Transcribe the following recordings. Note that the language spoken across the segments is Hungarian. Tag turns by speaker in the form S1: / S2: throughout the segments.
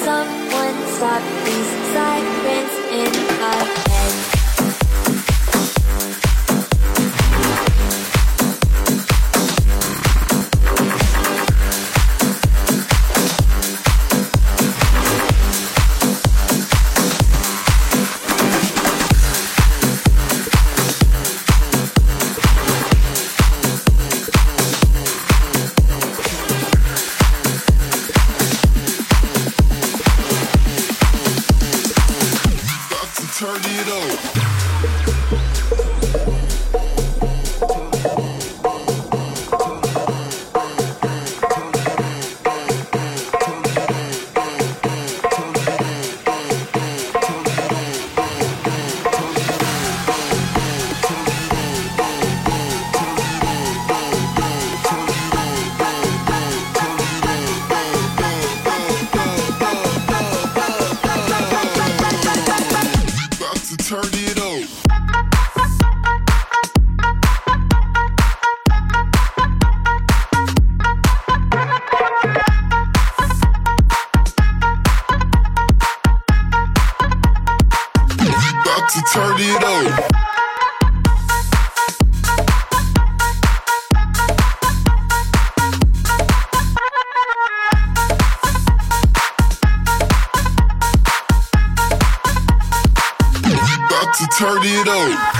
S1: someone stop these sirens in our head.
S2: Turn it up. Turn it up. About to turn it up.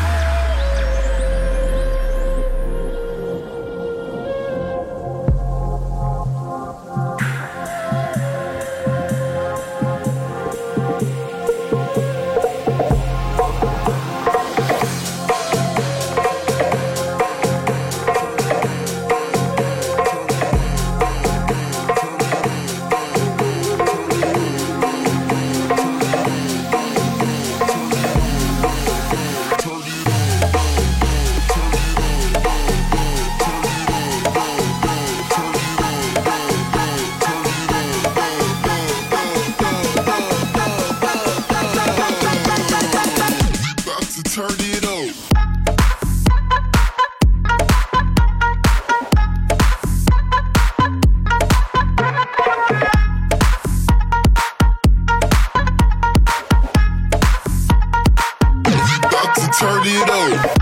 S2: Turn it up.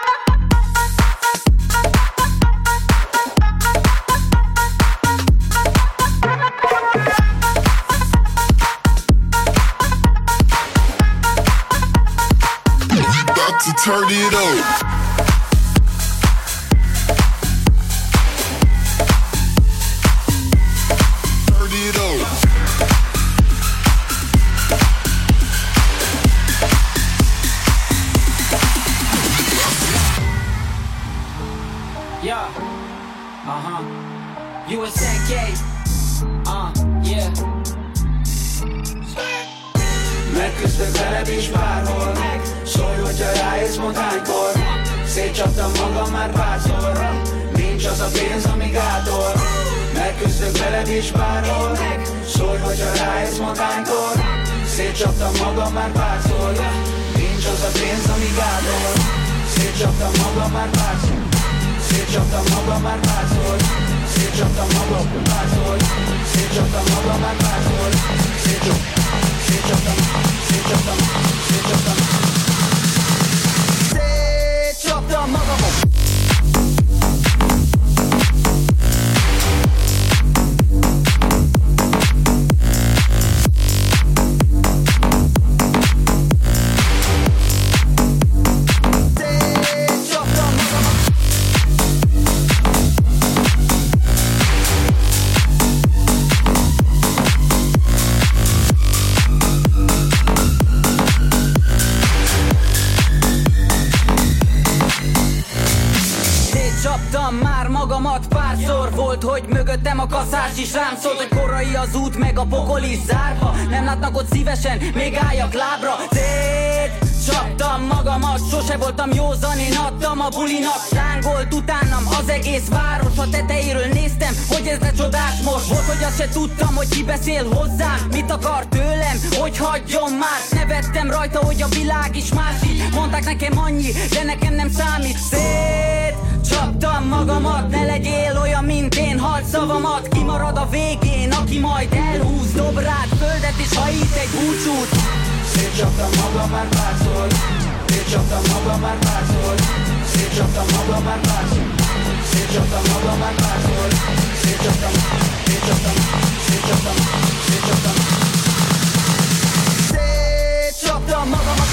S2: About to turn it up.
S3: Yeah, USNK, yeah. Megküzdök veled is bárhol, szólj, hogyha ráérsz montánykor. Szétcsaptam magam már párszor, nincs az a pénz, ami gátol. Megküzdök veled is bárhol, szólj, hogyha ráérsz montánykor. Szétcsaptam magam már párszor, nincs az a pénz, ami gátol. Szétcsaptam magam már párszor. Szétcsaptam magam már párszor, szétcsaptam magam párszor, szétcsaptam magam már párszor, szétcsaptam magamon. Csaptam már magamat párszor, volt, hogy mögöttem a kaszás is rám szólt, hogy korai az út, meg a pokol is zárva. Nem látnak ott szívesen, még álljak lábra. Csaptam magamat, sose voltam józan, én adtam a bulinak. Lángolt utánam az egész város, a tetejéről néztem, hogy ez de csodás most. Volt, hogy azt se tudtam, hogy ki beszél hozzám, mit akar tőlem, hogy hagyjon már. Nevettem rajta, hogy a világ is másik. Mondták nekem annyi, de nekem nem számít. Csaptam magamat, ne legyél olyan, mint én, halld szavamat. Kimarad a végén, aki majd elhúz, dob rád föl mindent és hajít egy búcsút.
S4: Szétcsaptam magam már párszor, szétcsaptam magam már párszor, szétcsaptam magam már párszor, szétcsaptam magam már párszor, szétcsaptam, szétcsaptam, szétcsaptam, szétcsaptam,
S3: szétcsaptam magamat.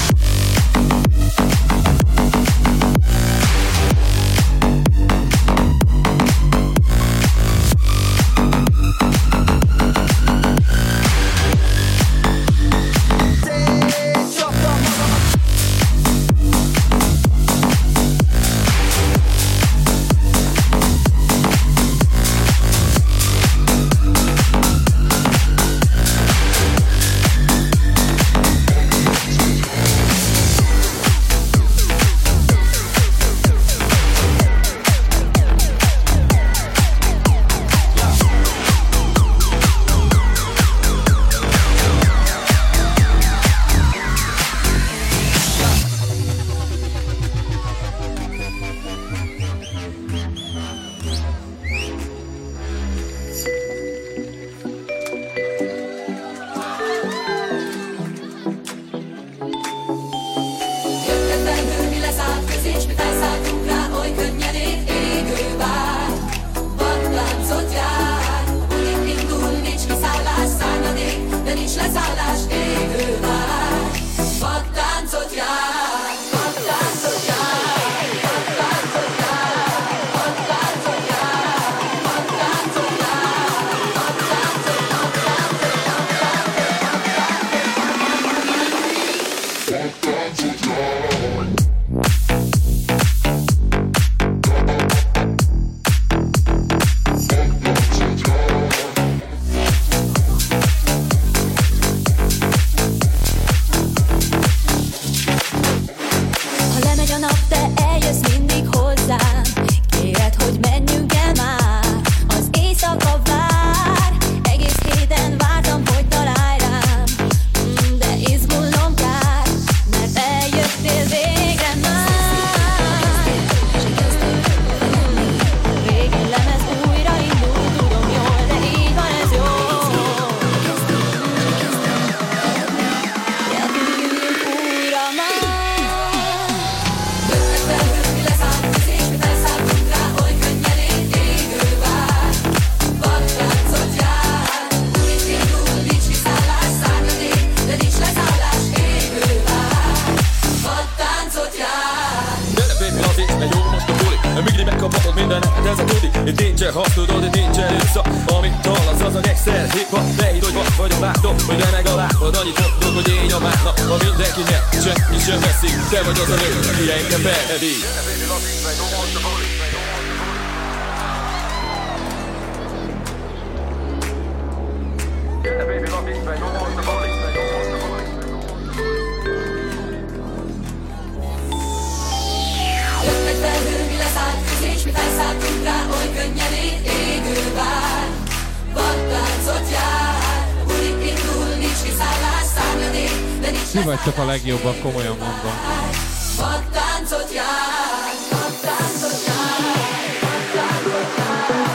S5: Ti vagytok a legjobbak, komolyan mondom.
S1: Vadtáncot jár, vadtáncot jár, vadtáncot jár.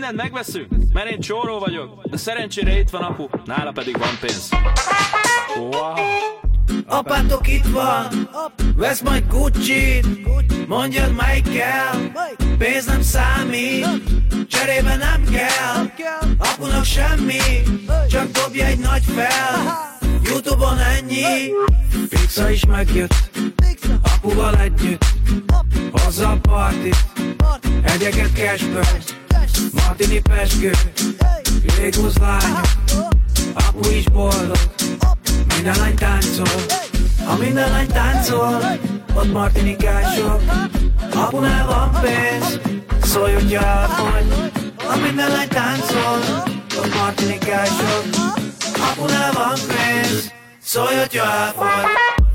S6: mindent megveszünk, mert én csóró vagyok. De szerencsére itt van apu, nála pedig van pénz. Wow.
S4: Apátok itt van, vesz majd Gucci-t, mondjad melyik kell, pénz nem számít, cserébe nem kell, apunak semmi, csak dobja egy nagy fel, YouTube-on ennyi, Pixa is megjött, apuval együtt, hozza a partit, egyeket cashből, Martini pezsgő, Légusz lányok, apu is boldog, minden lány táncol, ha minden lány táncol, ott martinikások, apunál van pénz, szólj, hogy elfogy, ha minden lány táncol, ott martinikások, apunál van pénz, szólj, hogy elfogy.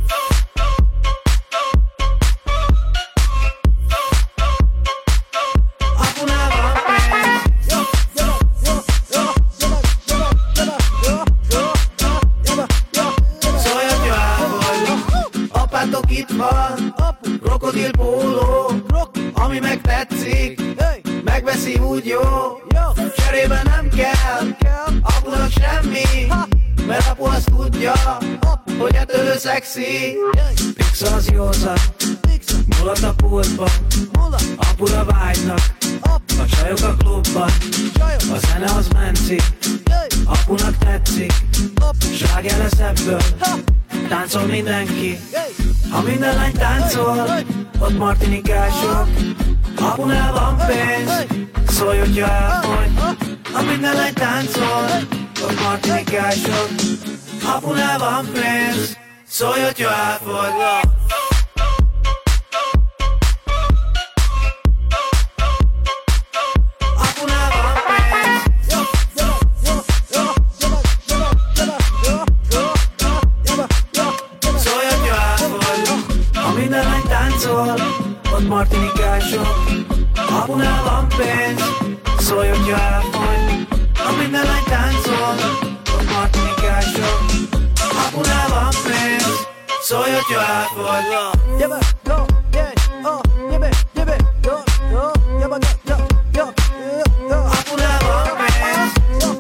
S4: Itt van, krokodil póló, ami meg tetszik, megveszi úgy jó, cserébe nem kell, apunak semmi, mert apu azt tudja, hogy ettől szexi. Pixa az józan, mulat a pultban, apura vágynak, a csajok a klubban, a zene az menci, apunak tetszik, sláger lesz ebből, táncol mindenki. Ha minden lány táncol, ott martinikások, apunál van pénz, szólj, hogy elfogy. Ha minden lány táncol, ott martinikások, apunál van pénz, szólj, hogy elfogy. Ott martinikások, apunál van pénz, szólj, hogy elfogy. Ha minden lány táncol, ott martinikások, apunál van pénz, szólj, hogy elfogy. Apunál van pénz.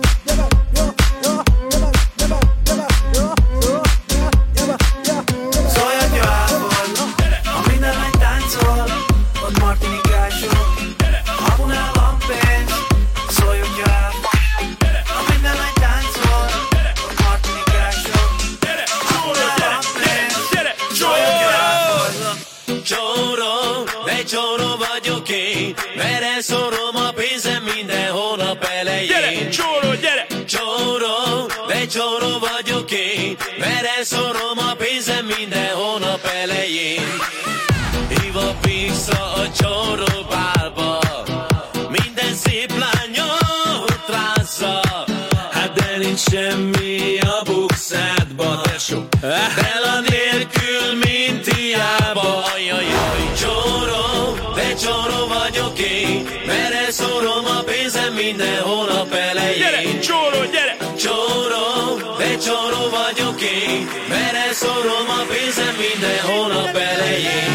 S7: Csóró vagyok én, mert elszorom a pénzem minden hónap elején.
S6: Gyere, csóró, gyere!
S7: Csóró, de csóró vagyok én, mert elszorom a pénzem minden hónap elején. Hív a Pixa a csóró bálba, minden szép lányot rázza. Hát de nincs semmi a bukszádba, tesó, Bella nélkül, mint hiába. Ajajaj, csóró, de csóró vagyok én, mert elszorom a pénzem minden hónap elején.
S6: Gyere, csóró, gyere!
S7: Csóró, de csóró vagyok én, mert elszorom a pénzem minden hónap elején.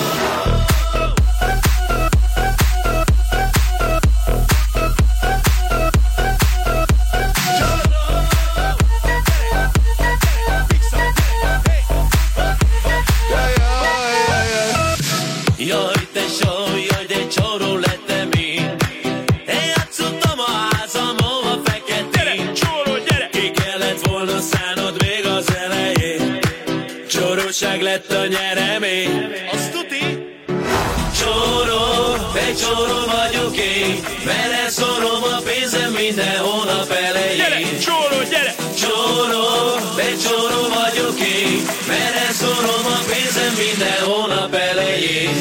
S7: Jaj, tesó, jaj, de csóró lettem én. Én játszottam a házam, hova feketén.
S6: Gyere, csóró, gyere!
S7: Ki kellett volna szánod még az elején. Csóróság lett a nyeremény. Azt tuti? Csóró, de csóró vagyok én, mert elszorom a pénzem minden hónap elején.
S6: Gyere, csóró, gyere!
S7: Csóró, de csóró vagyok én, mert elszorom a pénzem minden hónap elején.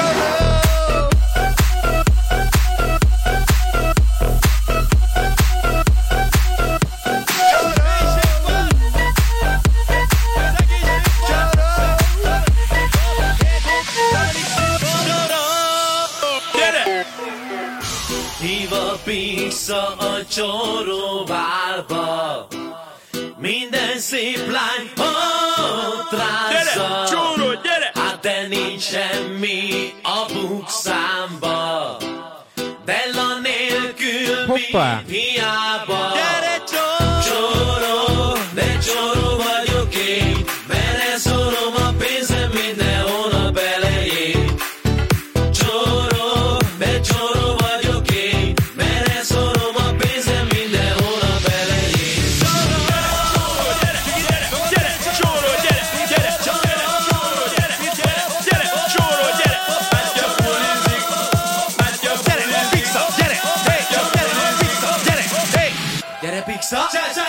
S7: Hív a Pixa a csóró bálba, minden szép lány ott rázza.
S6: Gyere, csóró, gyere!
S7: Hát de nincs semmi a bukszámba, Bella nélkül,
S5: Hoppá!
S7: Hiába. Gyere csóró, de csóró vagyok én, mert elszorom a pénzem minden hónap elején. Csóró, de csóró vagyok én, mert elszorom a pénzem minden hónap elején. Csóró, gyere, gyere, csóró, gyere, gyere, csóró, gyere, gyere, gyere, csóró, gyere, bátya pulizik, bátya pulizik, pizza, gyere, hey, gyere, pizza, gyere, hey, gyere, pizza,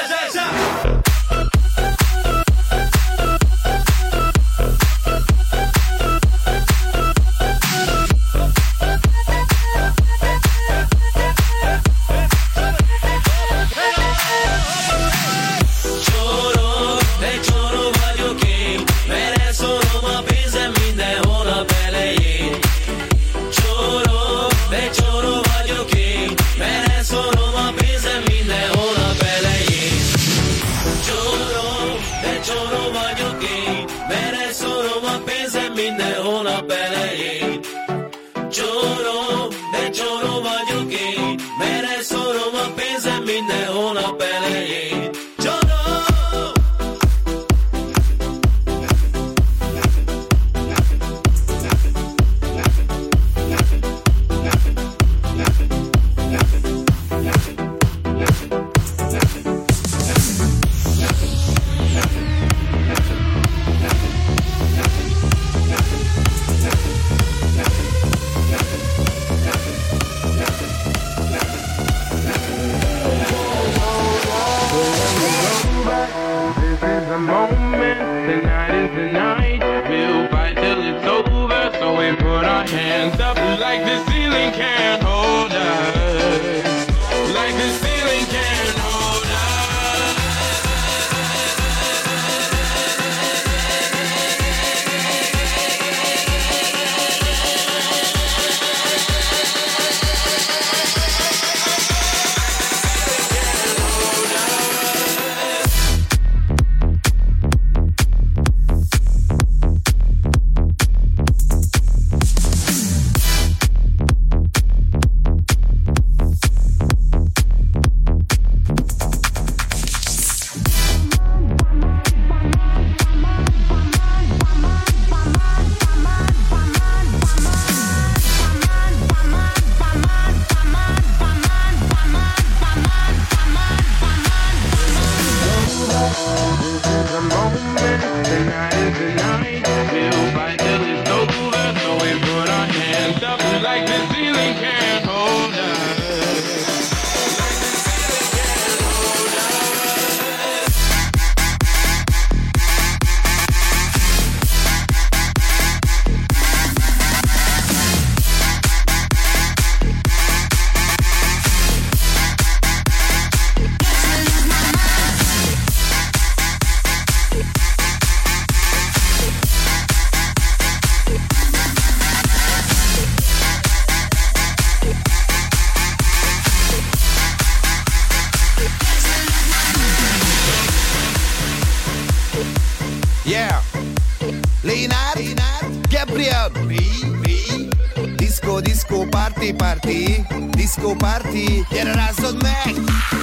S8: Disco party, gyere rázzad meg!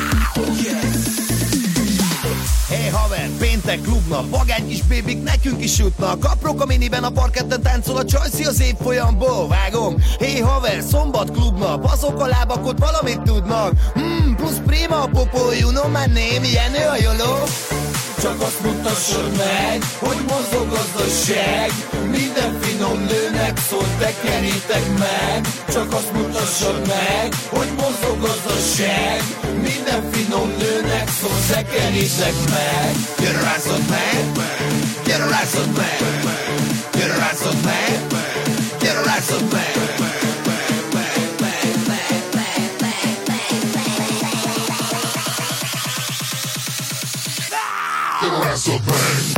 S8: Hey haver, péntek klubnap, vagány kis bébik nekünk is jutnak. Aprok a miniben a parketten táncol a csajszi az évfolyamból, vágom. Hey haver, szombat klubnap, azok a lábak ott valamit tudnak. Plusz prima a popó, you know my name, Jenő a joló. Csak azt mutassad meg, hogy mozog gazdaság. Minden finom nőnek szól, tekerítek meg. Csak azt mutassad meg, hogy mozog gazdaság. Minden finom nőnek szól, tekerítek meg. Gyere rázzad meg, gyere rázzad meg, gyere rázzad meg, gyere rázzad meg.
S2: That's a bang.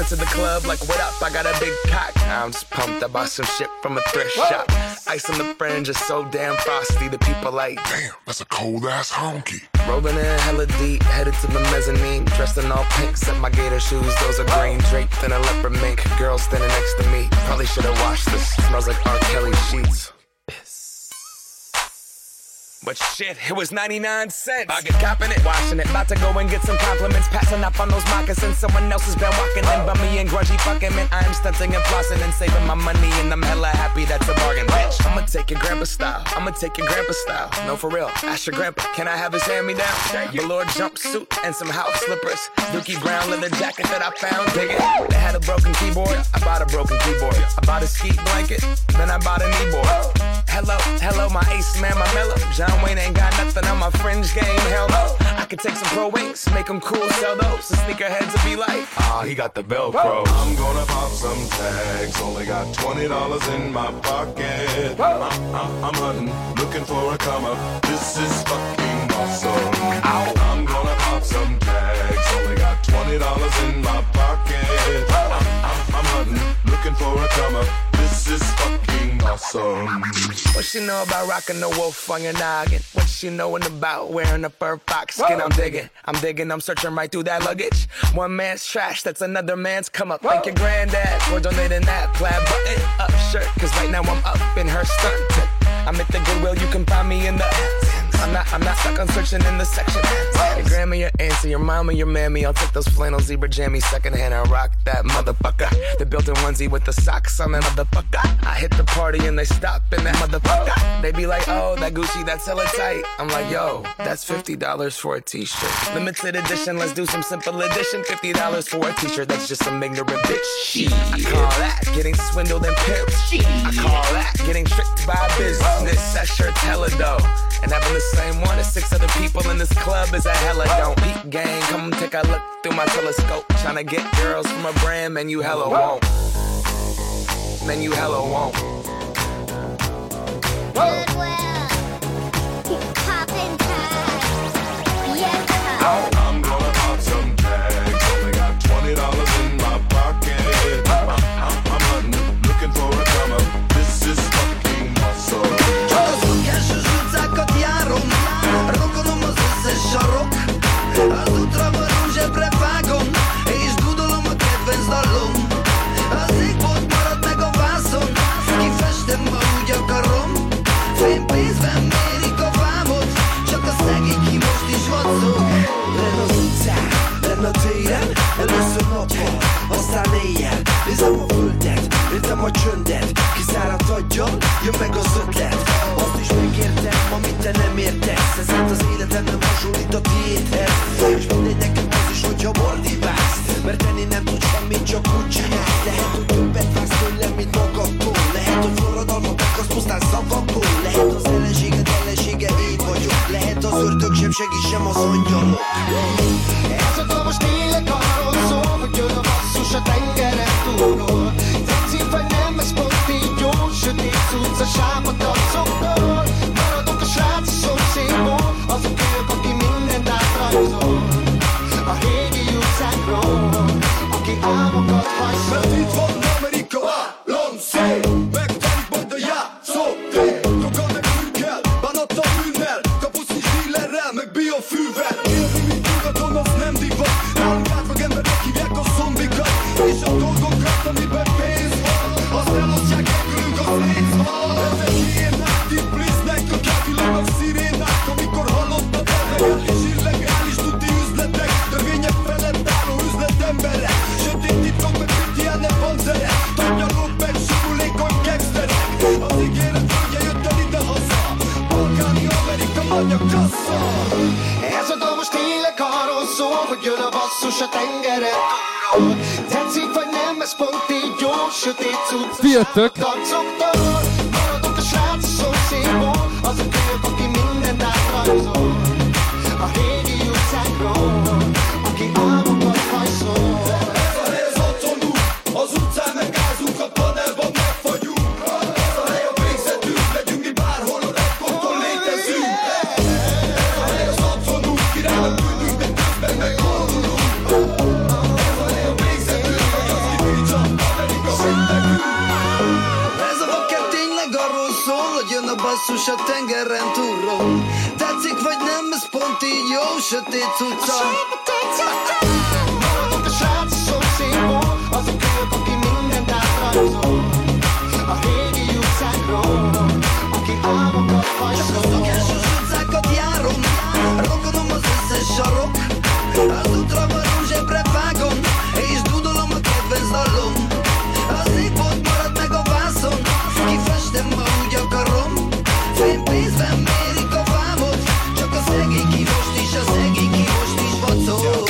S9: to the club like, what up? I got a big cock. I'm just pumped. I bought some shit from a thrift shop. Ice on the fringe is so damn frosty. The people like, damn, that's a cold ass honky. Rolling in hella deep, headed to the mezzanine. Dressed in all pink, set my gator shoes. Those are green, draped in a leopard mink. Girl standing next to me. Probably should have washed this. Smells like R. Kelly sheets. But shit, it was 99 cents. I get copping it, washing it. About to go and get some compliments. Passing up on those moccasins. Someone else has been walking in. Bummy and grungy fucking man. I'm stunting and flossing and saving my money. And I'm hella happy that's a bargain, bitch. I'ma take your grandpa style. I'ma take your grandpa style. No, for real. Ask your grandpa, can I have his hand-me-down? Velour jumpsuit and some house slippers. Dookie brown leather jacket that I found. Dig it. They had a broken keyboard. I bought a broken keyboard. I bought a ski blanket. Then I bought a kneeboard. Hello, my ace man, my mellow. John Wayne ain't got nothing on my fringe game, hell no. I could take some pro wings, make them cool, sell those. The sneakerheads will be like, he got the Velcro.
S2: I'm gonna pop some tags, only got $20 in my pocket. I'm hunting, looking for a come up. This is fucking awesome. I'm gonna pop some tags, only got $20 in my pocket. I'm hunting, looking for a come up. This is fucking awesome.
S9: What she know about rocking the wolf on your noggin? What she knowin' about wearing a fur fox skin? I'm digging, I'm searching right through that luggage. One man's trash, that's another man's come up. Thank your granddad for donating that plaid button up shirt. Cause right now I'm up in her skirt. I'm at the Goodwill, you can find me in the I'm not stuck on searching in the section. Your grandma, your auntie, your mama, your mammy. I'll take those flannel zebra jammies secondhand and rock that motherfucker. The built-in onesie with the socks on that motherfucker. I hit the party and they stop in that motherfucker. They be like, oh, that Gucci, that's hella tight. I'm like, yo, that's $50 for a t-shirt. Limited edition, let's do some simple edition. $50 for a t-shirt, that's just some ignorant bitch. I call that getting swindled and pimped. I call that getting tricked by business. That shirt's hella dope. And having the same one as 6 other people in this club is a hella don't. Peep gang, come take a look through my telescope. Tryna get girls from a brand, man, you hella won't. Man, you hella won't.
S10: Goodwill, poppin' tags, yeah.
S2: I'm gonna pop some tags, only got $20 in my pocket. I'm hunting, looking for a come up. This is fucking awesome.
S8: Sarok, az útra van zsebre vágom, és dudolom a kedvenc dallom. Az égbolt marad meg a vászon, kifestem, ma úgy akarom. Fénypénzben mérik a vámot, csak a szegény ki most is vacog. Lenn az utcán, lenn a téren, először nap van, aztán éjjel. Nézem a földet, értem a csöndet, kiszáradt aggyal, jön meg az ötlet. Azt is megértem, amit te nem értesz, ezért az életem nem hasonlít a tiédhez. És mindegy nekem az is, hogyha mordibálsz, mert tenni nem tudsz semmit, csak úgy csinálsz. Lehet, hogy többet vársz tőlem, mint magadtól. Lehet, hogy forradalmat akarsz pusztán szavakból. Lehet az ellenséged ellensége én vagyok. Lehet az ördög sem segít sem az angyalok. Ez a dal most tényleg arról szól, hogy jön a basszus a tengeren túlról. Tetszik vagy nem, ez pont így jó, sötét cucc a sápat arcoktól. Maradok a srác a szomszédból, az a kölyök, aki mindent átrajzol. A régi utcákról, aki álmokat hajszol. Mert itt van Amerika, Lancé, megtelik majd a játszótér. Droggal meg fűkkel, bánattal bűnnel, kapusz és dílerrel, meg biofűvel. Élni, mint nyugaton, az nem divat. Nálunk átlag embernek hívják a zombikat. És a dolgokat, amiben pénz van, azt elosztják elkülünk a szétsz van. Ezek hiénák, tippliznek, a kávilának szirénák. Amikor hallottad illegális, illegális tuti üzletek, törvények felett álló üzletemberek. Sötét titkok meg Christiane panzerek, tanyalók meg simulékony gangsterek. Az ígéret földje jött el ide-haza, balkáni Amerika anya kassa. Ez a dal most tényleg arról szól, hogy jön a basszus a tengeren túlról. Tetszik vagy nem, ez pont így jó, sötét cucc a sápat arcoktól. Maradok a srác a szomszédból, az a kölyök, aki mindent átrajzol. A régi utcákról, aki álmokat hajszol. Ez a hely az otthonunk, az utcán megázunk, a panelban megfagyunk. Ez a hely a végzetünk, legyünk mi bárhol, a repkonton létezünk. Ez a hely az otthonunk, királynak küldünk, de közben meghalunk. Ez a hely a végzetünk, vagy az
S11: basszus a tengeren túlról. Tetszik vagy nem, ez pont így jó, sötét cucca.
S12: Maradok a srác szomszédból, az a kölyök, aki mindent átrajzol. A régi utcákról, aki álmokat hajszol.
S11: Csak a szokásos utcákat járom, rokonom az összes sarok. Az útra varó zsebre vágom, és dudolom a kedvenc dalom. Az égbolt marad meg a vászon, kifestem, ma úgy akarom. Fénypénzben mérik a vámot, csak a szegény kivost is, a szegény kivost is bacol.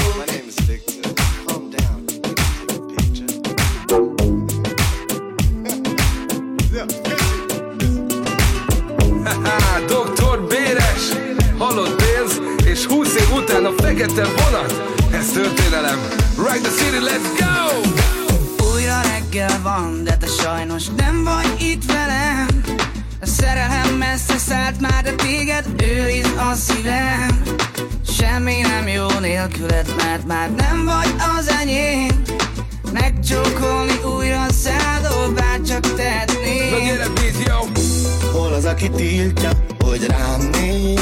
S13: Doktor Béres, halott pénz, és 20 év után a fekete vonat. Ez történelem, Rock the City, let's go!
S14: Újra reggel van, de te sajnos nem vagy itt velem. A szerelem messze szállt már, de téged őriz a szívem. Semmi nem jó nélküled, mert már nem vagy az enyém. Megcsókolni újra szádol, bárcsak tehetnék.
S13: Na gyere, beat, yo!
S8: Hol az, aki tiltja, hogy rám néz?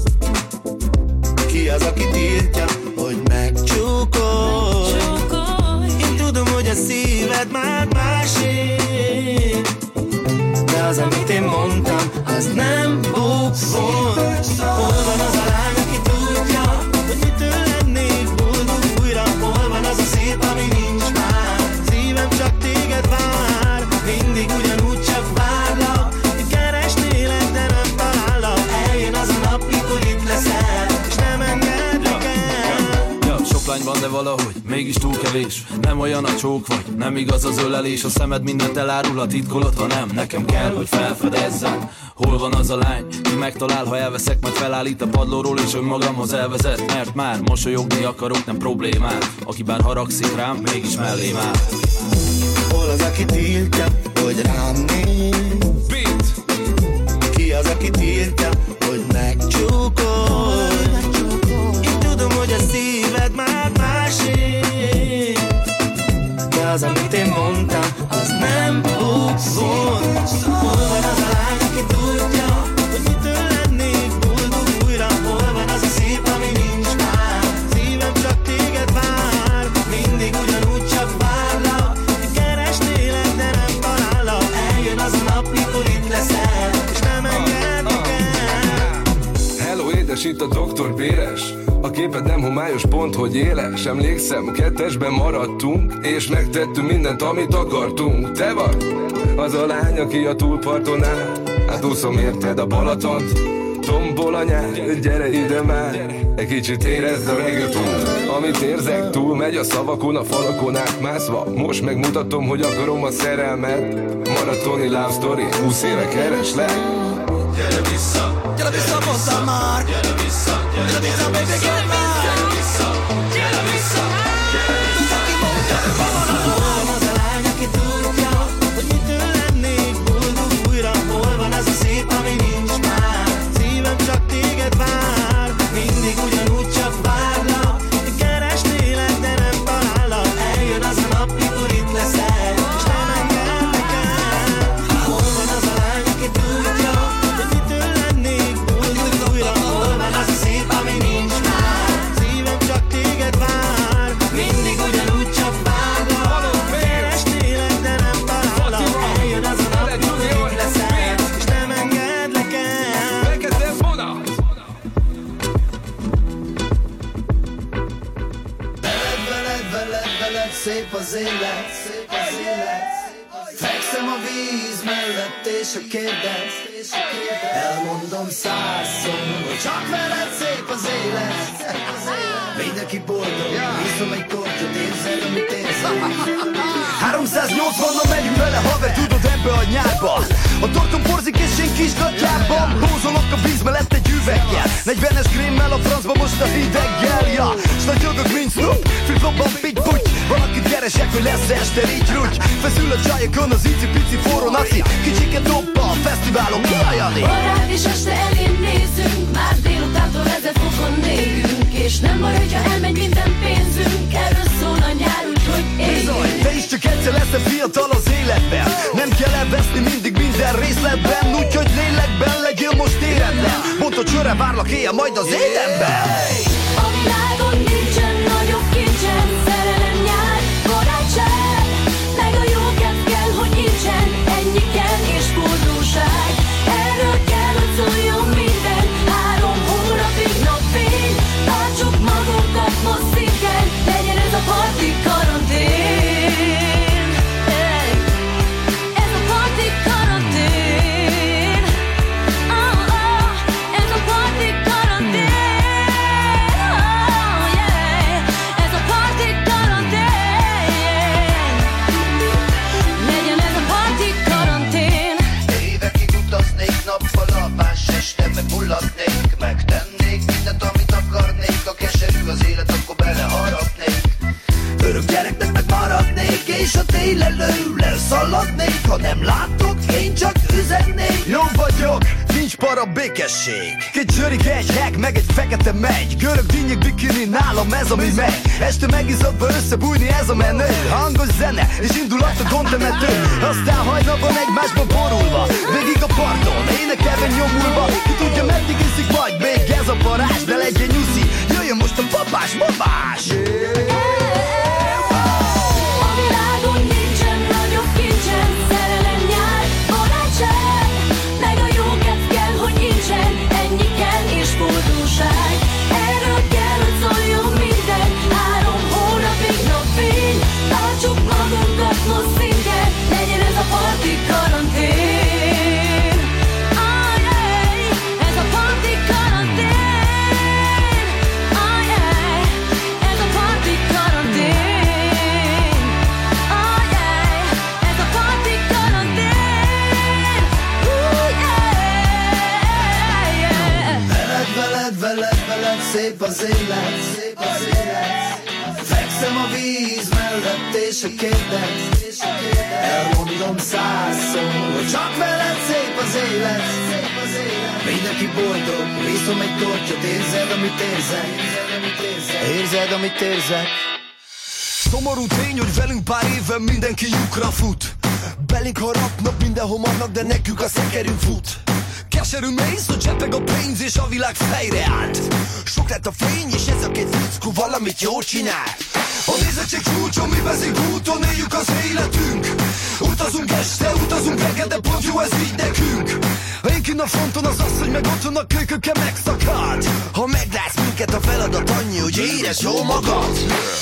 S8: Ki az, aki tiltja, hogy megcsókolj? Én tudom, hogy a szíved már másé, de az, amit én mondtam, az nem bukfont. Hol van az a lány, aki tudja, hogy mitől lennék boldog újra? Hol van az a szép, ami nincs már? Szívem csak téged vár, mindig ugyanúgy csak várlak. Keresnélek, de nem talállak. Eljön az a nap, mikor itt leszel, és nem engedlek el.
S6: Sok lány van, de valahogy mégis túl kevés. Nem olyan a csók vagy, nem igaz az ölelés. A szemed mindent elárul, a titkolod, ha nem. Nekem kell, hogy felfedezzem. Hol van az a lány, ki megtalál, ha elveszek, majd felállít a padlóról, és önmagamhoz elvezet. Mert már mosolyogni akarok, nem problémát. Aki bár haragszik rám, mégis mellém áll.
S8: Hol az, aki tiltja, hogy rám néz?
S13: Beat!
S8: Ki az, aki tiltja, hogy megcsókolj? Én tudom, hogy a szíved már másé, de az, amit én mondtam, az nem bukfont. Hol van az a lány, aki tudja, hogy mitől lennék boldog újra? Hol van az a szép, ami nincs már? Szívem csak téged vár, mindig ugyanúgy csak várlak. Keresnélek, de nem talállak. Eljön az a nap, mikor itt leszel, és nem engedlek el.
S13: Hello, édes, itt a Doktor Béres. A képed nem homályos, pont hogy éles. Emlékszem, kettesben maradtunk, és megtettünk mindent, amit akartunk. Te vagy az a lány, aki a túlparton áll. Hát úszom érted a Balatont, tombol a nyár. Gyere ide már, egy kicsit érezd a reggaeton. Amit érzek, túl megy a szavakon, a falakon átmászva. Most megmutatom, hogy akarom a szerelmet. Maratoni love story, 20 éve kereslek.
S12: Gyere vissza, mondtam már. Gyere vissza, baby, gyere már. Gyere vissza, gyere vissza, gyere vissza.
S8: Hol van az a lány, aki tudja, hogy mitől lennék boldog újra? Hol van az a szép, ami nincs már? Szívem csak téged vár, mindig ugyanúgy csak várlak. Keresnélek, de nem talállak. Eljön az a nap, mikor itt leszel, és nem engedlek el. Hol van az a lány, aki tudja, hogy mitől lennék boldog újra? Hol van az a szép, ami nincs már? Szívem csak téged vár, mindig ugyanúgy csak várlak. Keresnélek, de nem talállak. Eljön az a nap, mikor itt leszel, és nem engedlek el.
S13: Fekete vonat!
S11: Veled szép az élet, szép az élet. Fekszem a víz mellett és a kérdez, elmondom 100-szor, hogy csak veled szép az élet. Mindenki boldog, iszom egy kortyot, érzed, amit érzed. 380-on megyünk vele, haver, tudod, ebbe a nyárba. A tortom porzik és én kisgatjában bózolok a víz mellett egy üveggel. 40-es grémmel a francba most a hideggel, ja. S nagyogok, mint Snoop, flip-flopban pitty-puty. Valakit keresek, hogy lesz este így rúgy. Feszül a csajokon az icipici forró naci. Kicsiket dobba a fesztiválon, kiajani.
S15: Barát és este elén nézünk, már délutántól 1000 fokon négünk. És nem baj, hogyha elmegy minden pénzünk, erről szól a nyár, úgyhogy éljünk.
S11: Te is csak egyszer leszel fiatal az életben. Nem kell elveszni mindig minden részletben, úgyhogy lélekben legyen
S8: várlak éjjel majd az édenben.
S15: A világon nincsen nagyobb kincsen, szerelem, nyár, barátság, meg a jó kedv kell, hogy nincsen, ennyi kell és boldogság. Erről kell, hogy szóljon minden, 3 hónapig napfény, tartsuk magunkat most szinten, legyen ez a parti karantén. Ez a parti karantén. Ez a parti karantén. Ez a parti karantén. Legyen ez a parti karantén.
S11: Évekig utaznék nappal, más este meg mullatnék, megtennék mindent, amit akarnék. A keserű az élet, akkor beleharapnék. Örök gyereknek meg maradnék, és a télelő leszaladnék. Ha nem látok, én csak üzennék.
S8: Jó vagyok, nincs para, békesség. Két zsörig, egy heg, meg egy fekete megy. Görög dinnyék, bikini, nálam ez ami megy. Este megizadva összebújni ez a menő. Hangos zene, és indulat a gondtemető. Aztán hajnalban egymásba borulva, végig a parton, énekelve nyomulva. Ki tudja meddig iszik majd még ez a parázs. Ne legyen nyuszi, jöjjön most a babás, babás.
S15: A világon nincsen nagyobb kincsen, szerelem, nyár, barátság, meg a jó kedv kell, hogy nincsen, ennyi kell és boldogság. Erről kell, hogy szóljon minden, 3 hónapig napfény, tartsuk magunkat most szinten, legyen ez a parti karantén. Ez a parti karantén. Ez a parti karantén. Ez a parti karantén.
S11: Veled, szép az élet, szép az élet. Fekszem a víz mellett és a kérdez, elmondom 100-szor, hogy csak veled szép az élet, szép az élet. Mindenki boldog, viszom egy tortyot, érzed, amit érzek, érzed, amit érzek.
S8: Szomorú tény, hogy velünk pár éve mindenki lyukra fut. Belénk harapnak, mindenhol vannak, de nekünk a szekerünk fut. Keserű mész, hogy csepeg a pénz és a világ fejre állt. Sok lett a fény és ez a két fickó valamit jól csinál. A nézettség csúcson, mi vezünk úton, éljük az életünk. Utazunk este, utazunk reggel, de pont jó ez így nekünk. Én kinn a fronton az, hogy meg otthon a kölyköke megszakadt. Ha meglátsz minket, a feladat annyi, hogy érezd jól magad.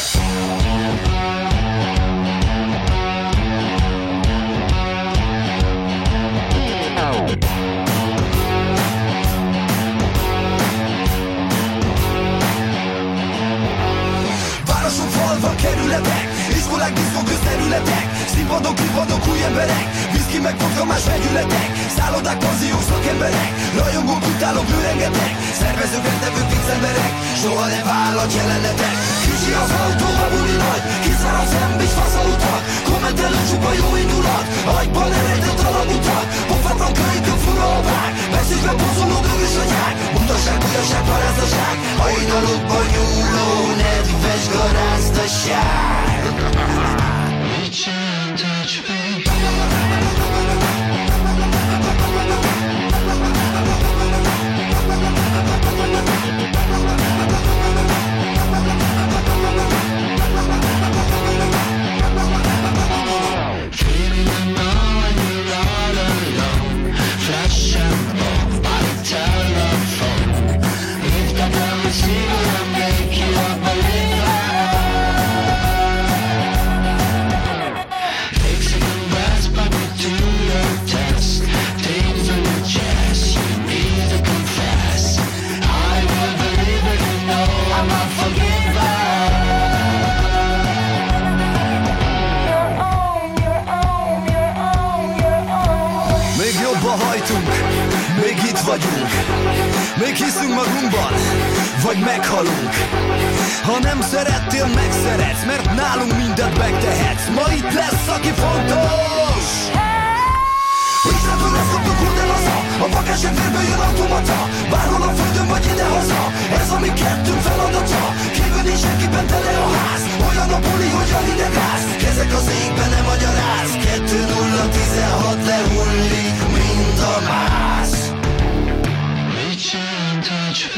S8: Városok, falvak, kerületek, iskolák, diszkok, közterületek, színpadok, klubadok, új emberek, viszki meg vodka, más vegyületek, szállodák, panziók, szakemberek, rajongók, utálók, rengeteg, szervezők, rendezők, vicemberek, soha nem vállalt jelenetek. Kicsi az autó, a buli nagy, kiszar a szemb és fasz a utak, kommentelő csupa jó indulat, agyban eredett alagutak, pofátlan kölykök, fura a vág, beszélve pozoló dögös anyák, mutaság, bujaság, parázdaság, hajnalokban nyúló, nedves garázdaság. Még itt vagyunk, még hiszünk magunkban, vagy meghalunk. Ha nem szerettél, megszeretsz, mert nálunk mindent megtehetsz. Ma itt lesz, aki fontos. Izzetből ezt kaptuk, hol nem haza, a vakásság vérből jön automata. Bárhol a földön vagy idehaza, ez a mi kettőnk feladata. Kívül nincs senkiben tele a ház, olyan a buli, hogy a hideg ház. Kezek az égben nem magyaráz, 2-0-16 lehullik mind a mász. Reach and touch.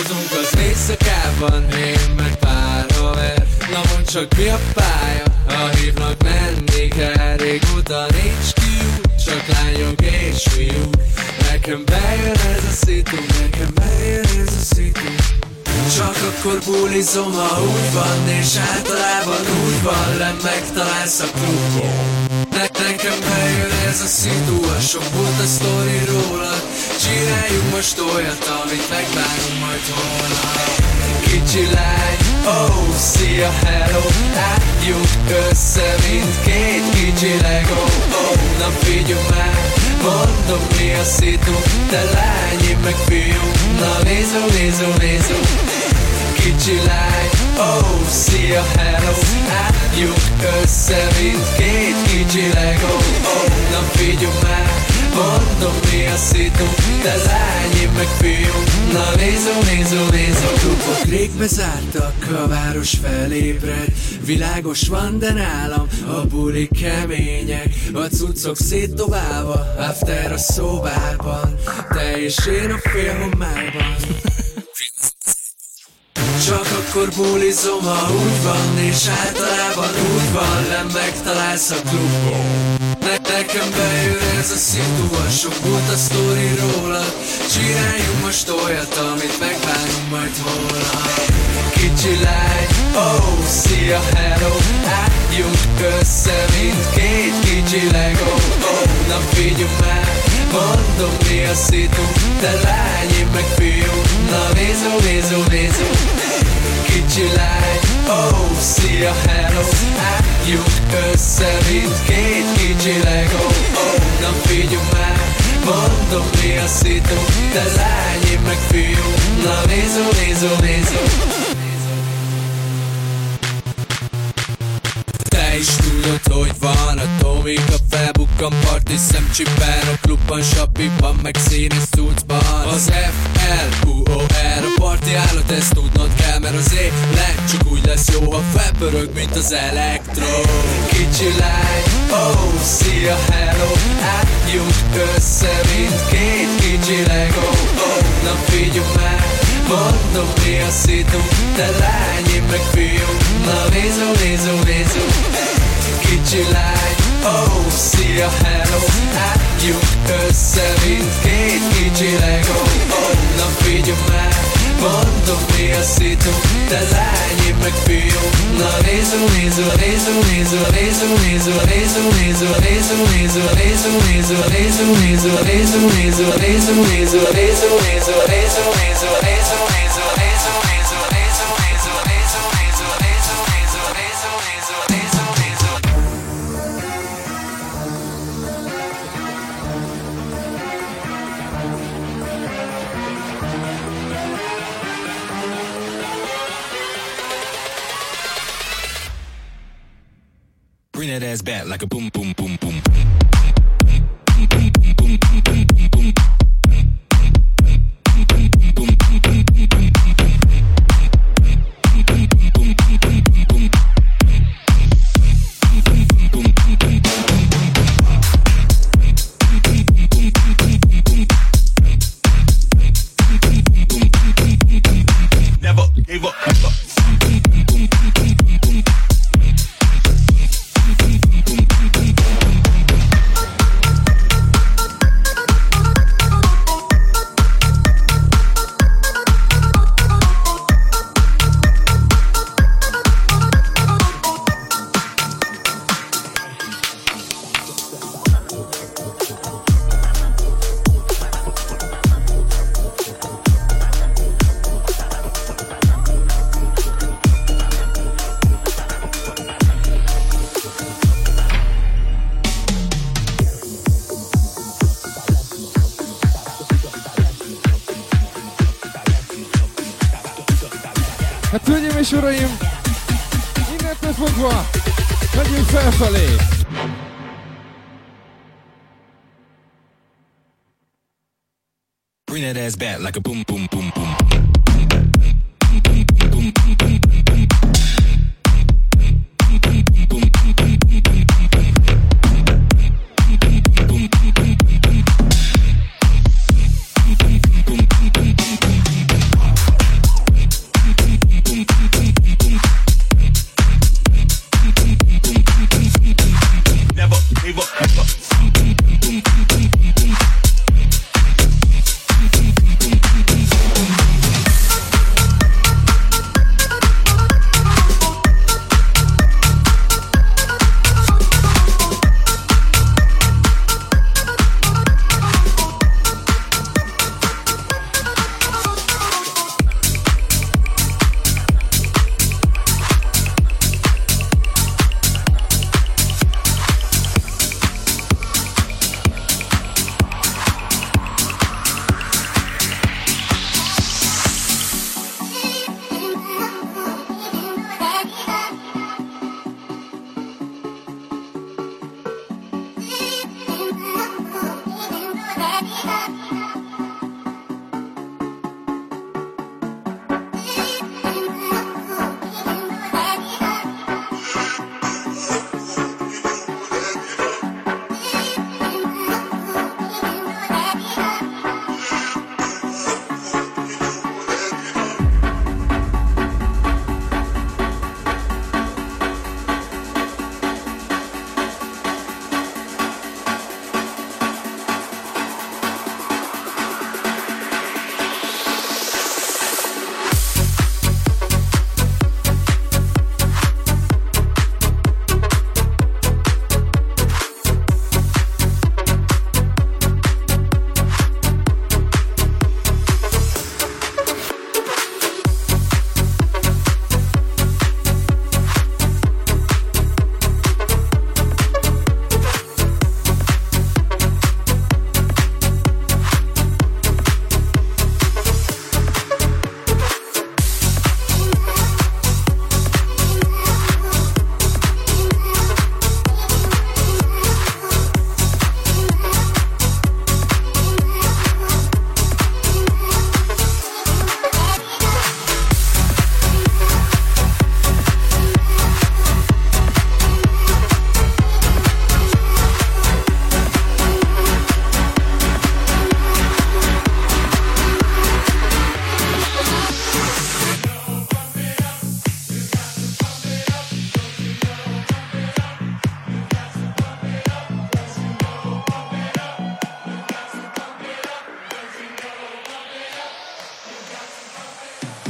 S16: Búcsúzunk az éjszakában, én meg pár haver. Na mondd csak mi a pálya, ha hívnak menni kell. Régóta nincs kiút, csak lányok és fiúk. Nekem bejön ez a szitu, nekem bejön ez a szitu. Csak akkor bulizom, ha úgy van, és általában úgy van, nem megtalálsz a klubon. Nekem bejön ez a szitu, a sok volt a sztori rólad. Csináljunk most olyat, amit megbánunk majd holnap. Kicsi lány, oh, szia, hello. Álljuk össze, mint két kicsi Lego. Oh, na figyelj már, mondom mi a szitu. Te lány, én meg fiú, na nézó. Kicsi lány, oh, szia, hello. Álljuk össze, mint két kicsi Lego. Oh, na figyelj már, mondom mi a szitu. Te lány, én meg fiú, na nézó. A klubok rég bezártak, a város felébred. Világos van, de nálam a bulik kemények. A cuccok szétdobálva, after a szobában. Te és én a félhomályban. Csak akkor bulizom, ha úgy van, és általában úgy van, nem megtalálsz a klubon. Nekem bejön ez a szitu, a sok volt a sztori rólad. Csináljunk most olyat, amit megbánunk majd holnap. Kicsi lány, oh, szia, hello. Álljuk össze, mint két kicsi Lego. Oh, na figyelj már, mondom mi a szitu. Te lány, én meg fiú, na nézó. Kicsi lány, oh, szia, hello. Álljuk össze, mint két kicsi Lego. Oh, na figyelj már, mondom mi a szitu. Te lány, én meg fiú, na nézó. Te is tudod, hogy van a Tomika, felbukkan parti szemcsiben. A klubban, sapiban, meg színes cuccban. Az FLUOR a parti állat, ezt tudnod kell, mert az élet csak úgy lesz jó, ha felpörög, mint az elektro. Kicsi lány, oh, szia, hello. Álljuk össze, mint két kicsi Lego. Oh, na figyelj már, mondom mi a szitu. Te lány, én meg fiú, na nézó. Kicsi lány, oh, szia, hello. Álljuk össze, mint két kicsi Lego. Oh, na figyelj már, mondom mi a szitu. Te lány, én meg fiú, na nézó.
S17: Bring that ass back like a boom, boom, boom, boom.
S2: Never gave up.
S5: Hát hölgyeim és uraim, innentől fogva megyünk felfelé.
S17: Bring that ass back like a boom, boom, boom, boom.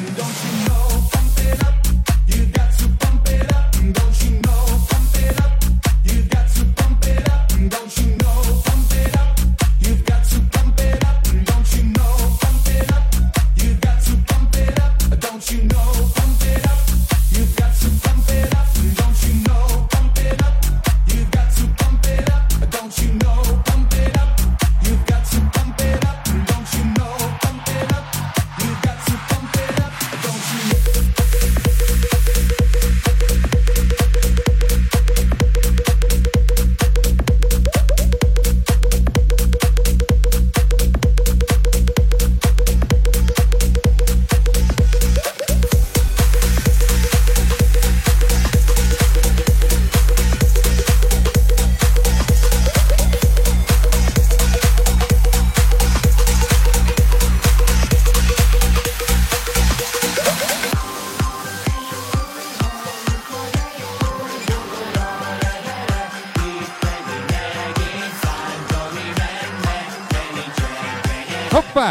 S5: Hoppá!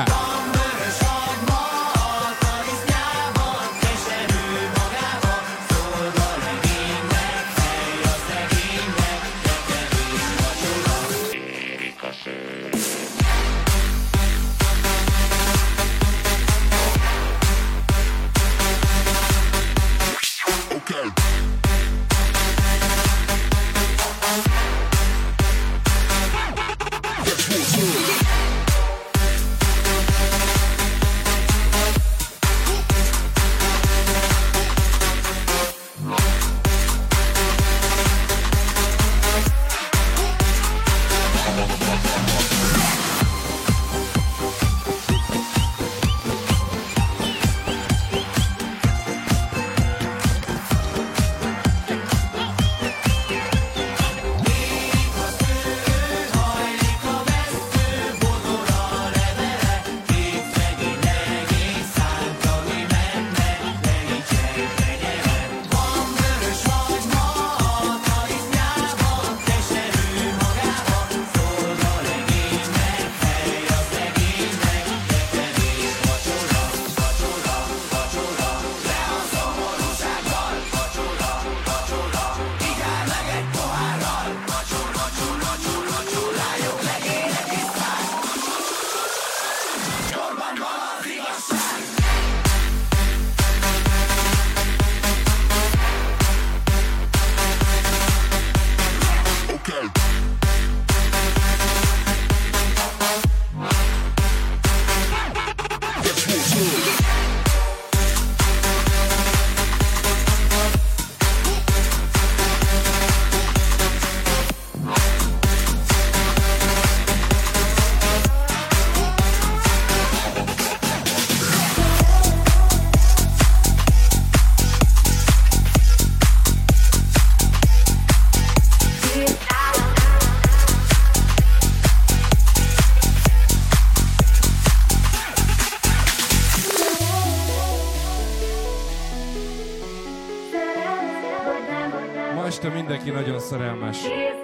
S5: Este mindenki nagyon szerelmes.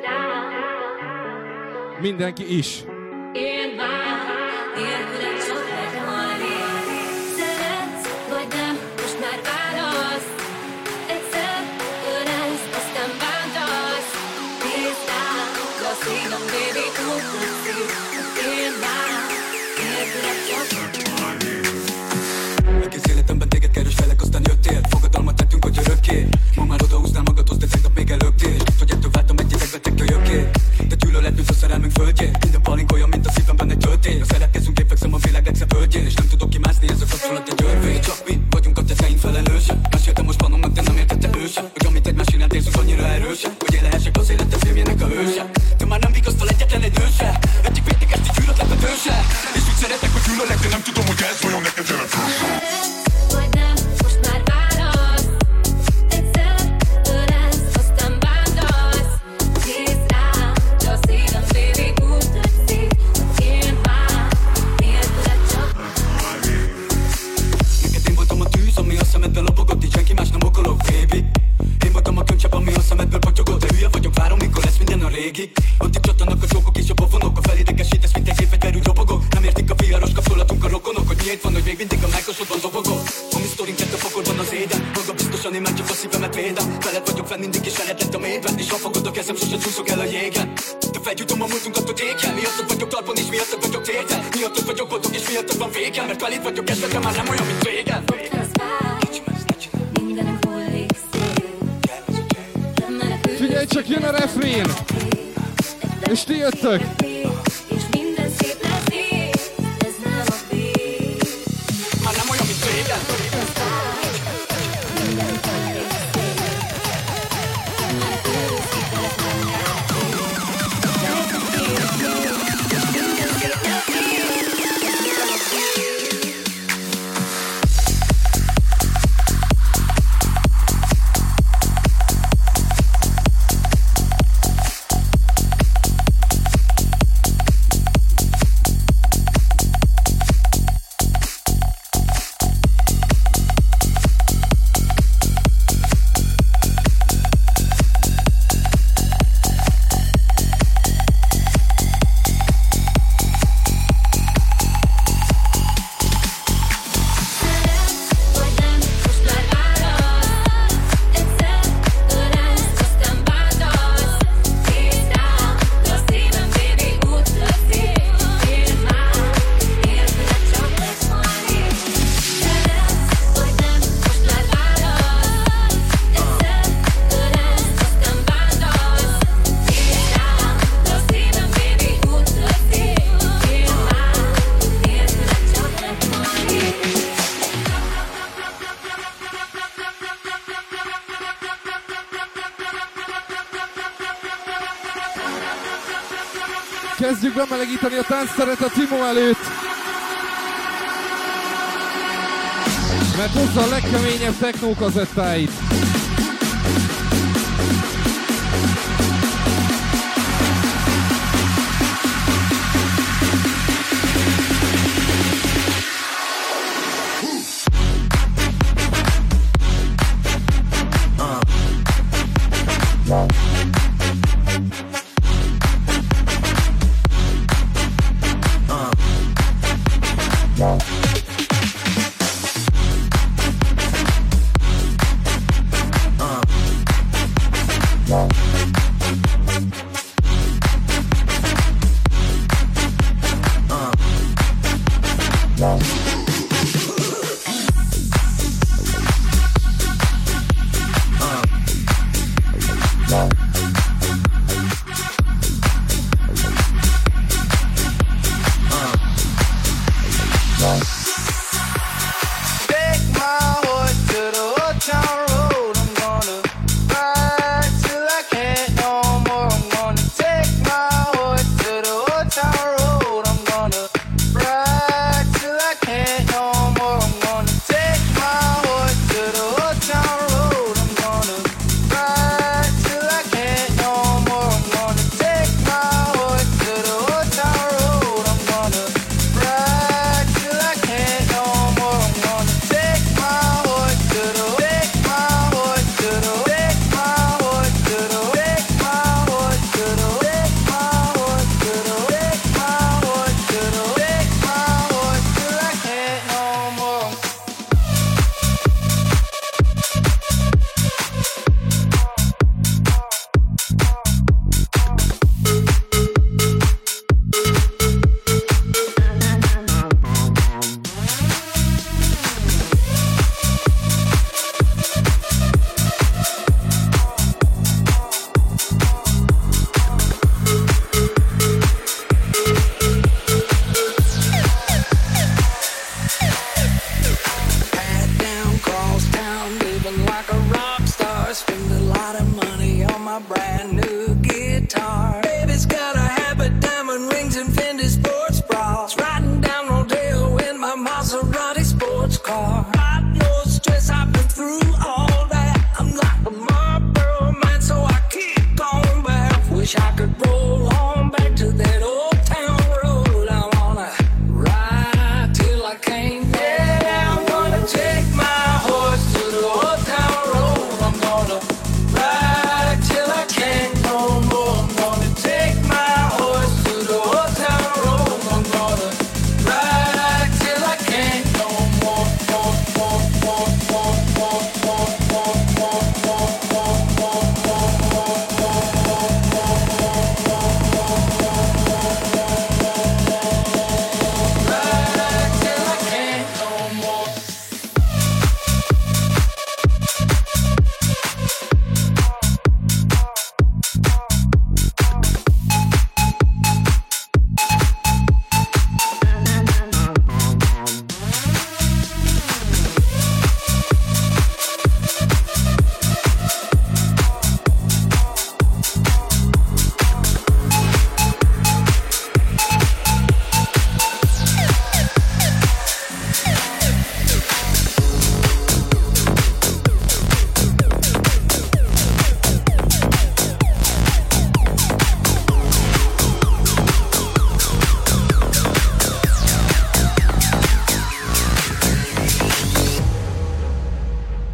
S5: Mindenki is.
S15: Én már nélküled csak meghalni. Szeretsz, vagy nem, most már válasz. Egyszer ölelsz, aztán bántasz. Nézd rám, de a szívem, baby, úgy tetszik. Én már nélküled csak meghalni.
S18: Egész életemben téged keres felek, aztán jöttél. Fogadalmat tettünk, hogy örökké. Ma már odahúznál magadhoz, de tegnap még előttél. Hogy ettől váltam egy idegbetek kölyökké. De gyűlöletünk a szerelmünk földjén. Minden palink olyan, mint a szívemben egy töltény. A szeretkezünk, én fekszem a világ legszebb földjén. És nem tudok kimászni, ez a kapcsolat egy örvény. Csak mi vagyunk a tetteink felelősek. Meséltem most panomnak, de nem értette ő sem. Hogy amit egymás iránt érzünk annyira erősek, hogy élehessek az életem filmjének a hőse. Te már nem vigasztal egyetlen egy nőse. Egyik védikesti gyűlölet a dőse. És úgy szeretek, hogy gyűlölek, de nem tudom, hogy ez vajon neked jelentős.
S15: Vagy nem, most már válasz. Egyszer ölelsz, aztán bántasz. Nézd rám, de a szívem, baby, úgy tetszik. Én már nélküled csak meghalni.
S18: Neked én voltam a tűz, ami a szemedben lobogott, így senki más nem okolok, baby. Én voltam a könycsepp, ami a szemedből patyogott. De hülye vagyok, várom, mikor lesz minden a régi. Ott itt csattanak a csókok és a pofonok. A felidegesítesz, mint egy gépfegyverű robogok. Nem értik a viharos kapcsolatunk a rokonok, hogy miért van, hogy még mindig a mákosodban dobogok. motorink kettő fokorban az égen. Maga biztosan én már csak a szívemet védem. Veled vagyok fenn mindig és veled lett a mélyben. És ha fogod a kezem, sose csúszok el a jégen. De felgyújtom a múltunkat, hogy éken. Miattad vagyok talpon és miattad vagyok téten. Miattad vagyok boldog és miattad van végem. Mert veled vagyok esetre már nem olyan, mint régen.
S5: Figyelj csak, jön a refrén! És ti jöttök!
S18: Már nem olyan, mint régen.
S5: Kezdjük bemelegíteni a táncteret a Timo előtt. Mert hozza a legkeményebb techno kazettáit.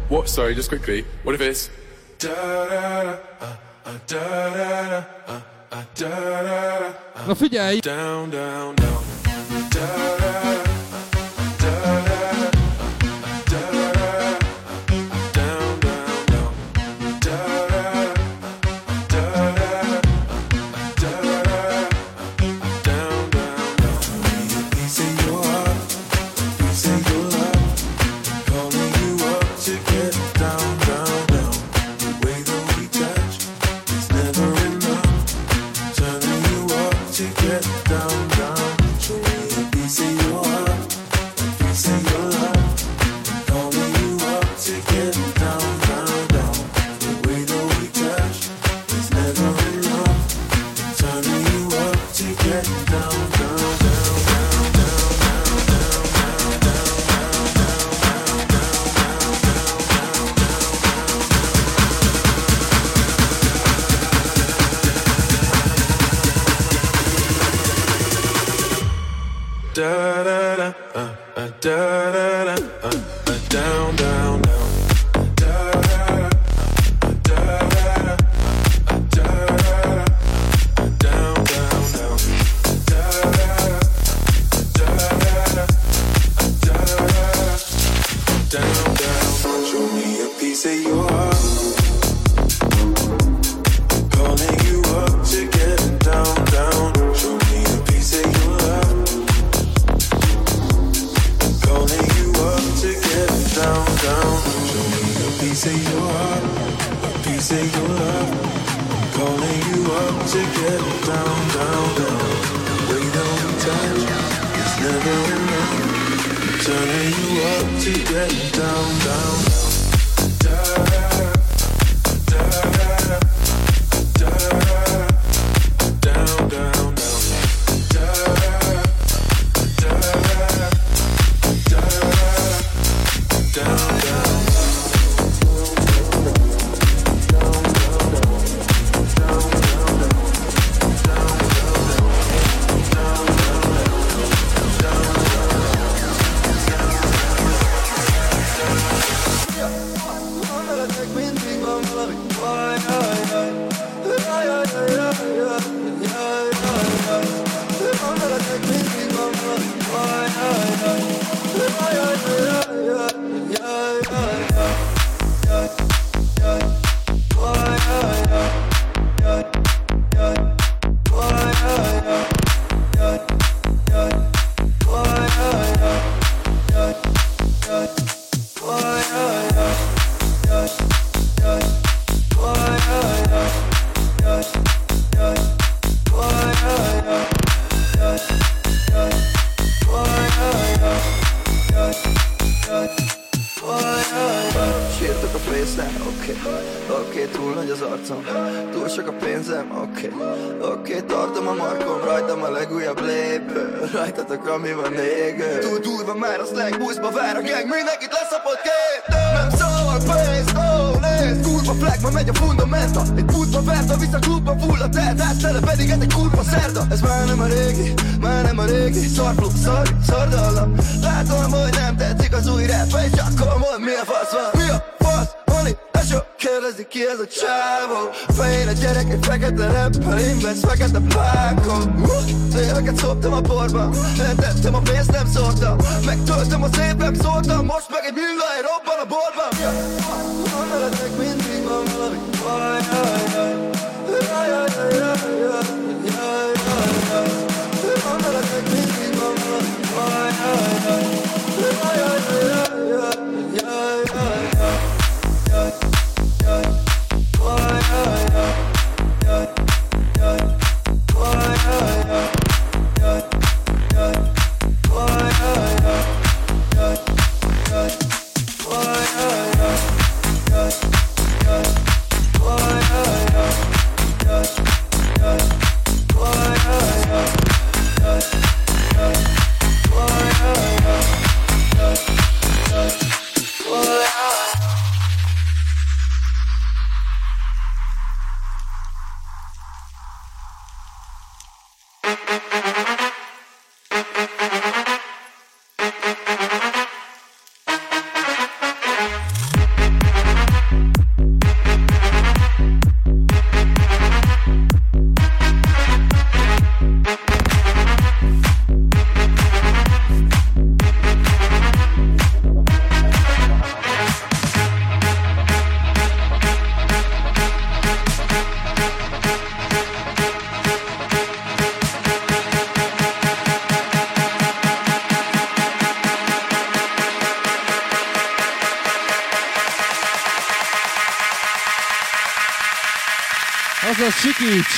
S13: What? Sorry, just quickly. What if it's
S5: Na figyelj!
S13: Down, down, down. Down, down, down.
S11: Ami van égő Túl van már a slang, buszba vár a gang Mindenkit leszapott két Nem szavak, pénz, nézd Kurva flag, ma megy a fundamenta Egy pultba vert, a vissza klubba full a telt Áttele pedig egy kurva szerda Ez már nem a régi Szarflub, szardallam Látom, hogy nem tetszik az új rap És akkor mondd, mi a fasz van Mi a fasz, Moni, eső Kérdezik ki ez a csávó Fején a gyerek egy fekete rappel Invesz fekete plákon Széleket szoptam a porban Eltettem a pénzt, nem szóltam Megtöltöm a szép, nem szóltam Most meg egy millai robban a borban Veletek mindig van valami Jaj, jaj, jaj Jaj, jaj, jaj, jaj Jaj, jaj, jaj Veletek mindig van valami Jaj, jaj, jaj Jaj, jaj, jaj Jaj, jaj, jaj Why
S5: Azaz sikíts!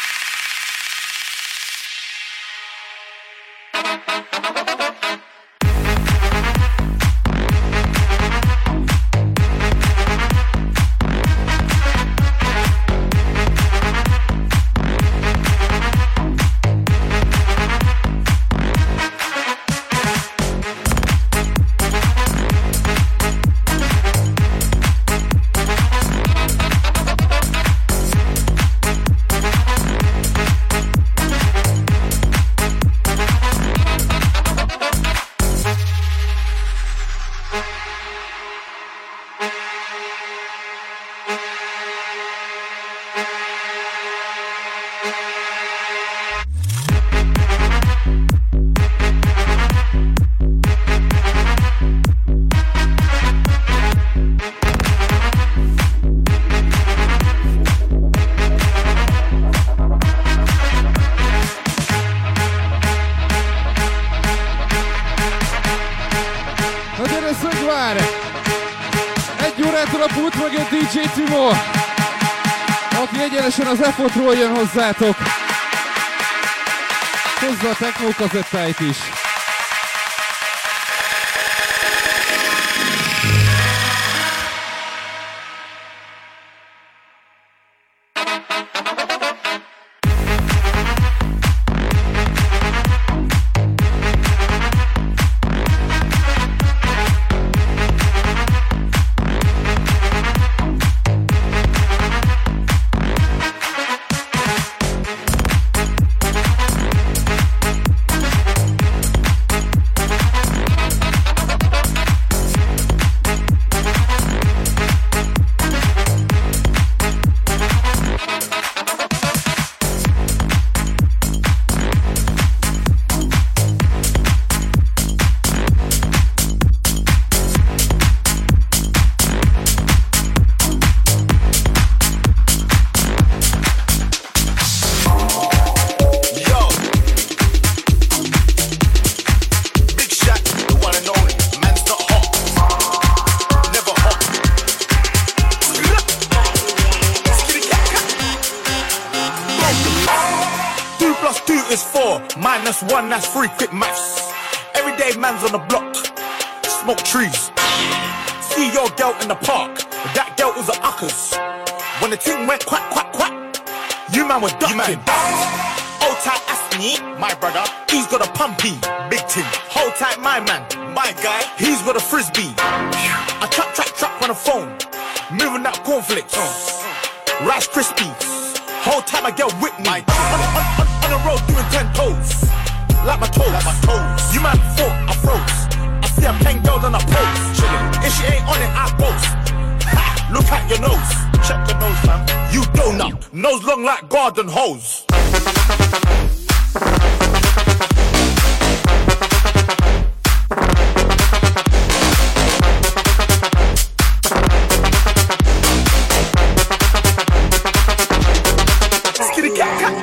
S5: DJ Timo, aki egyenesen az F-ról jön hozzátok. Hozza a techno kazettáit is.
S19: One, that's free, quick maths. Everyday man's on the block, smoke trees. See your girl in the park, that girl was a uckers. When the thing went quack, quack, quack, you man were ducking. Hold tight, Asney, my brother, he's got a pumpy, big ting. Hold tight, my man, my guy, he's got a frisbee. I trap on the phone, moving that cornflakes, Rice Krispies. Hold tight, my girl with me. On the road doing 10 toes. Like my toes, You man thought I froze. I see a pen girl on a pose. Chillin'. If she ain't on it, I boast. Ha! Look at your nose. Check your nose, fam. You donut. Nose long like garden hose. Skitty cat cat.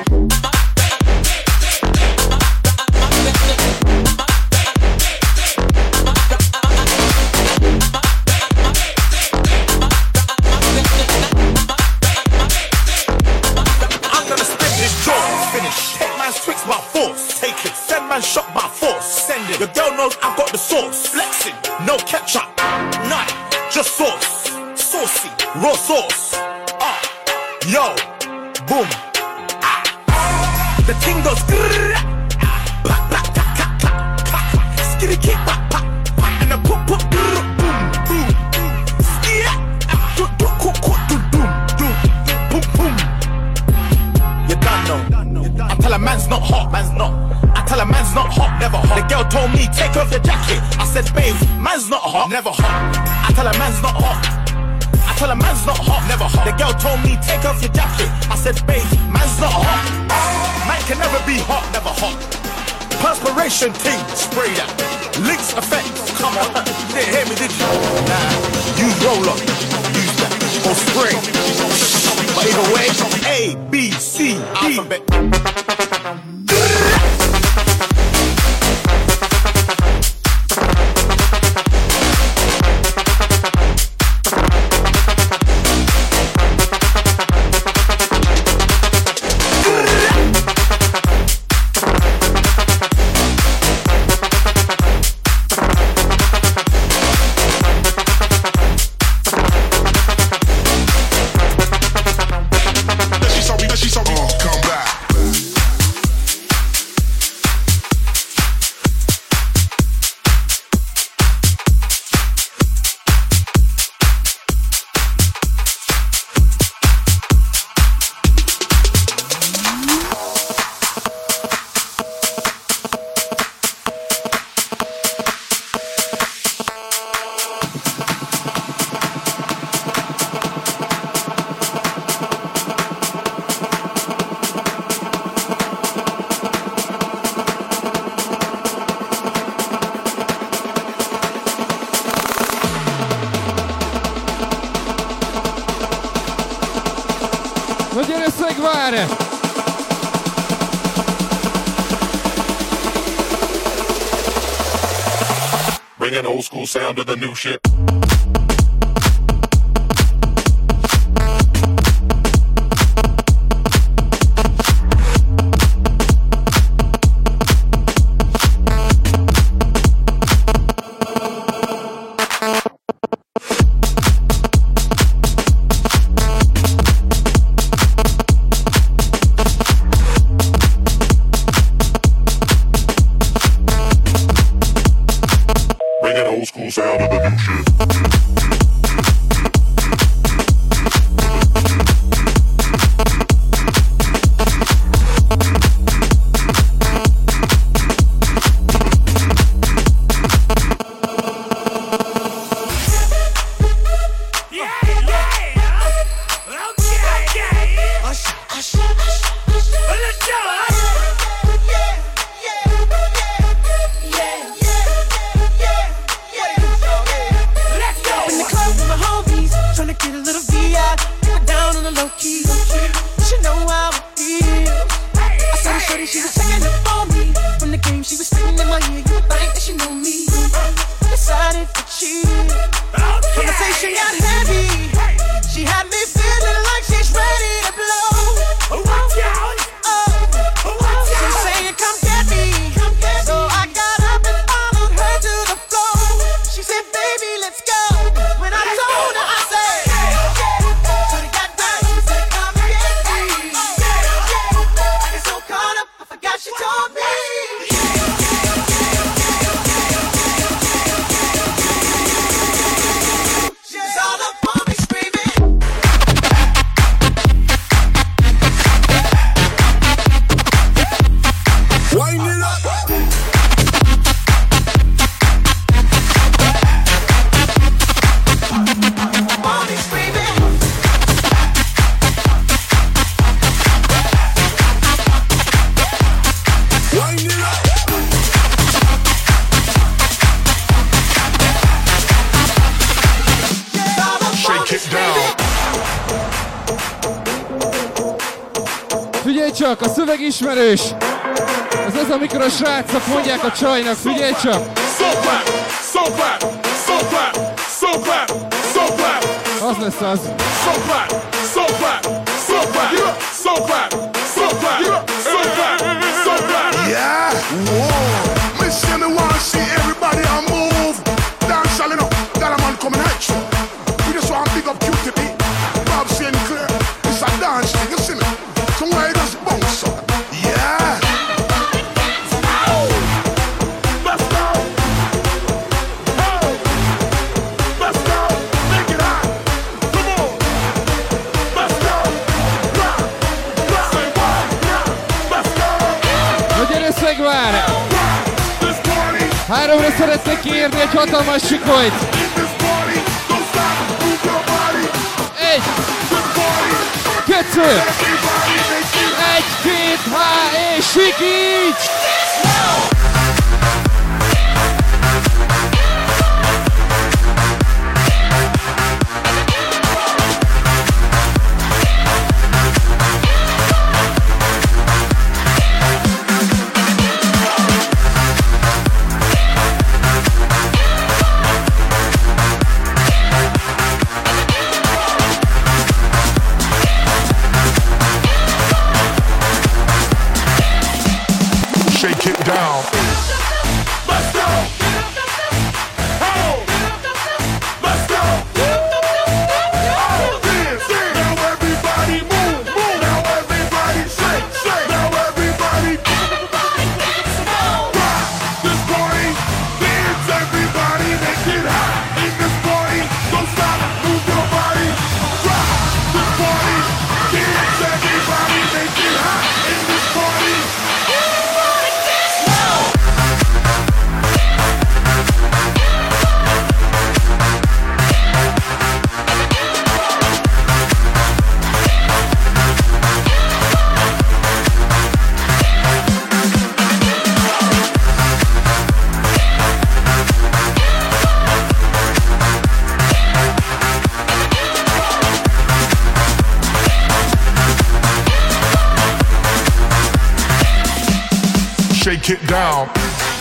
S19: Shot by force, send it. Your girl knows I've got the sauce. Flexing, no ketchup, none, just sauce. Saucy, raw sauce. Yo, boom. The thing goes skitty kick, and the pop, boom, boom. You don't know. I tell a man's not hot, man's not. I tell a man's not hot, never hot. The girl told me, take off your jacket. I said, babe, man's not hot, never hot. I tell a man's not hot. I tell a man's not hot, never hot. The girl told me, take off your jacket. I said, babe, man's not hot. Man can never be hot, never hot. Perspiration ting, spray that. Links effects, come on. Didn't hear me, did you? Nah, use roll up, use that. Or spray. But either way, A, B, C, D. Alphabet.
S5: Legyen összegvár!
S2: Bring an old school sound to the new shit. Sound of the new shit.
S5: Figyelj csak, a szöveg ismerős! Ez az, amikor a srácok mondják a csajnak, figyelj csak! Az lesz az!
S2: Yeah, whoa! Miss me wanna see everybody on move. Dance all enough, that a man coming at you. We just want to pick up QTB. Bob Sinclair, it's a dance thing, you see me? So why does bounce up? Yeah! Oh. Let's go! Oh. Let's go! Make it hot! Come on! Let's go! Rock! Rock! Say what? Let's go!
S5: Legyen összegvár! 3-ra szeretnék kérni egy hatalmas sikolyt! 1, 2, 1, 2, 3, és sikíts!
S2: Shake it down. break it down.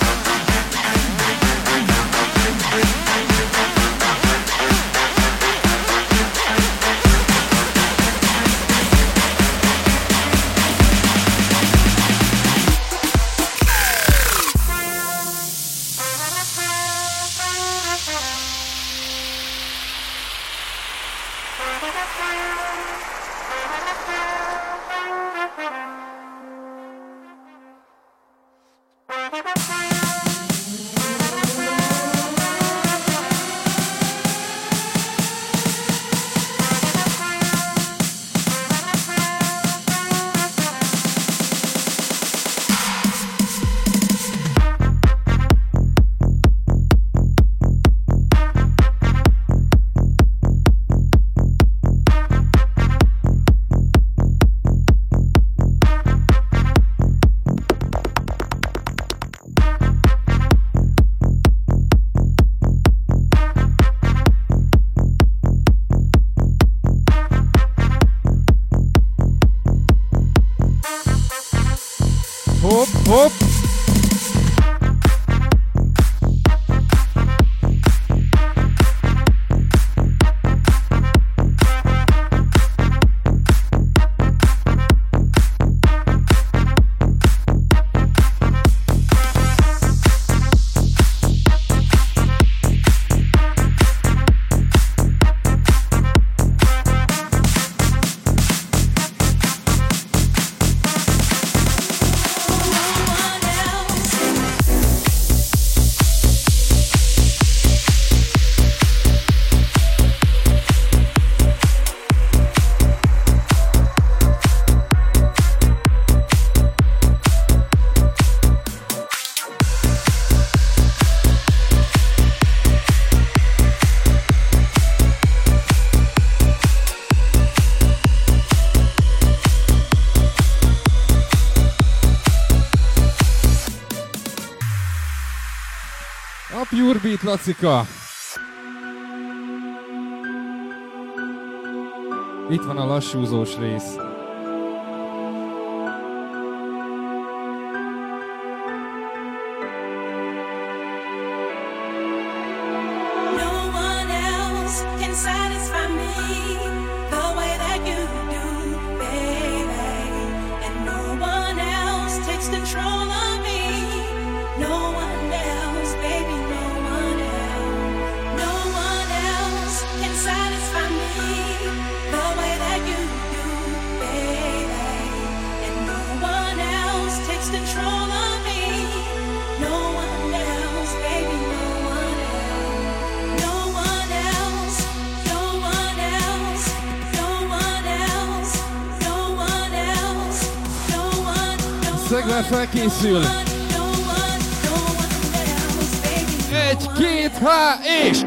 S5: Hopp, hopp! Pure Beat, Lacika! Itt van a lassúzós rész. Szegler felkészül. 1, 2, 3 és...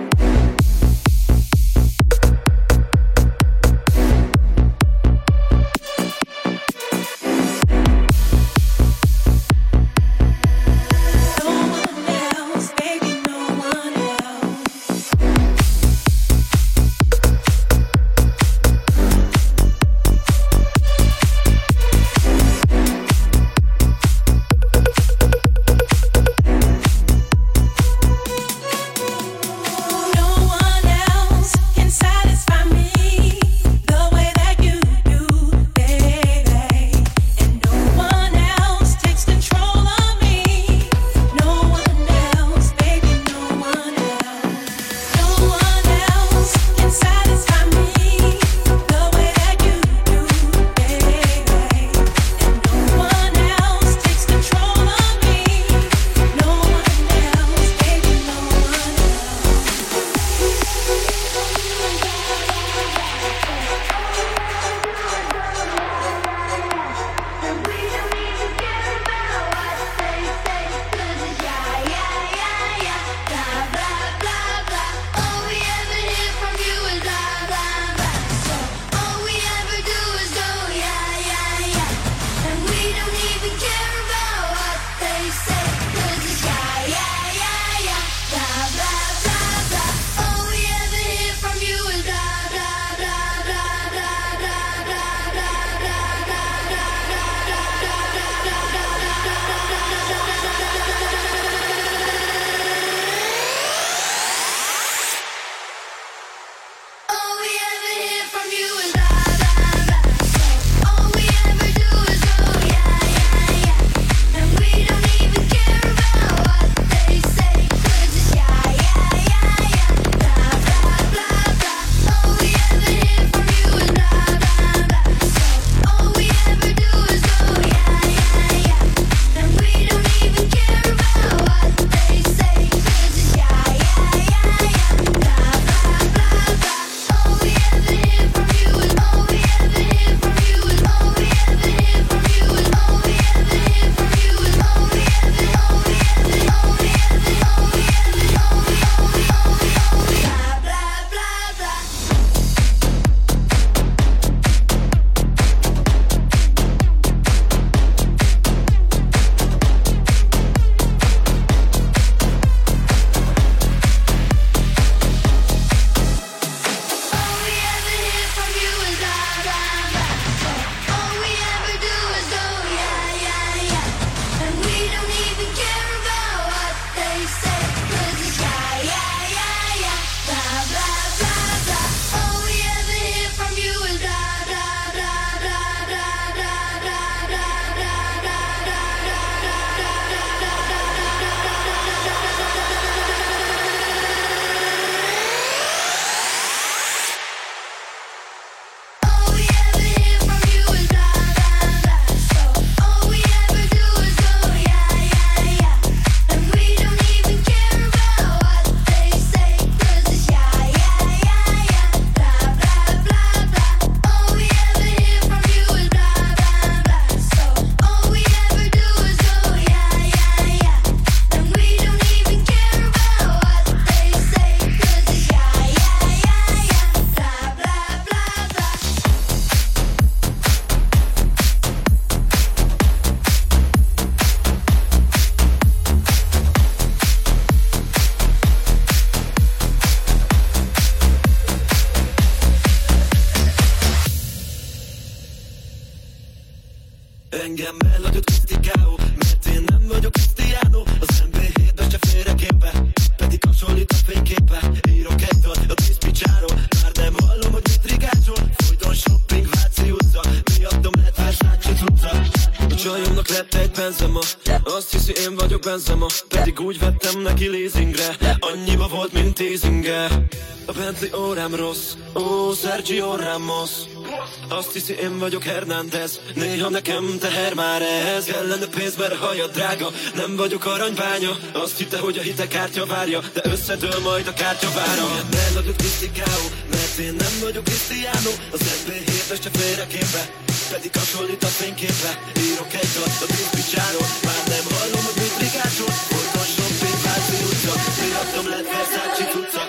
S7: Azt hiszi én vagyok Benzema, pedig úgy vettem neki leasingre. Annyiba volt, mint teasinge. A Bentley órám rossz, ó, Sergio Ramos. Azt hiszi én vagyok Hernández, néha nekem teher már ez. Kellene pénz, mert haja drága, nem vagyok aranybánya. Azt hitte, hogy a hitekártya várja, de összedől majd a kártyavára. Ne nagyot Cristiano, mert én nem vagyok Cristiano. Az NB7-es csak félreképbe, pedig hasonlít a fényképre. Írok egy dalt a Cristiano, már nem hallom, hogy mit rigácsol. Folyton shopping, Váci utca, miattam lett Versace cucca.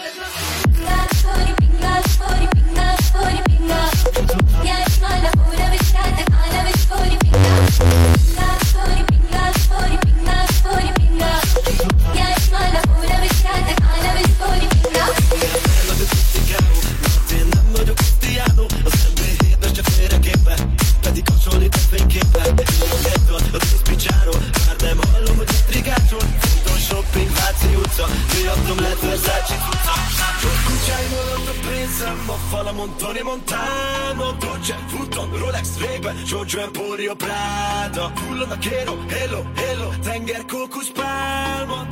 S7: Tony Montano, Dolce, Vuitton, Rolex, Ray-Ban, Giorgio Emporio, Prada. Hullon a Kero, Hello, Hello, tenger, kókusz, pálma.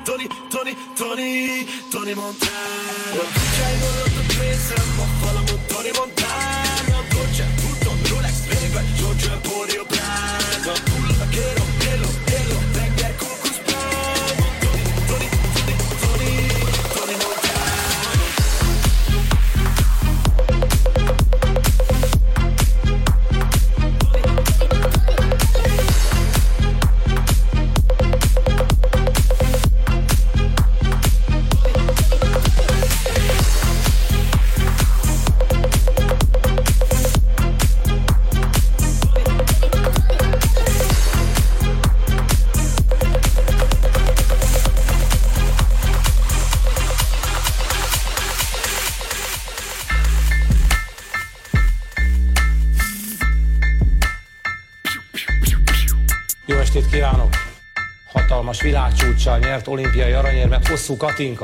S7: Tony Montano. Kutyáimon a pénzem, a falamon Tony Montano, Dolce, Vuitton, Rolex, Ray-Ban, Giorgio Emporio, Prada. Hullon a Kero, Hello, Hello, tenger, kókusz, pálma. Tony Montano.
S20: Jó estét kívánok! Hatalmas világcsúccsal nyert olimpiai aranyérmet Hosszú Katinka.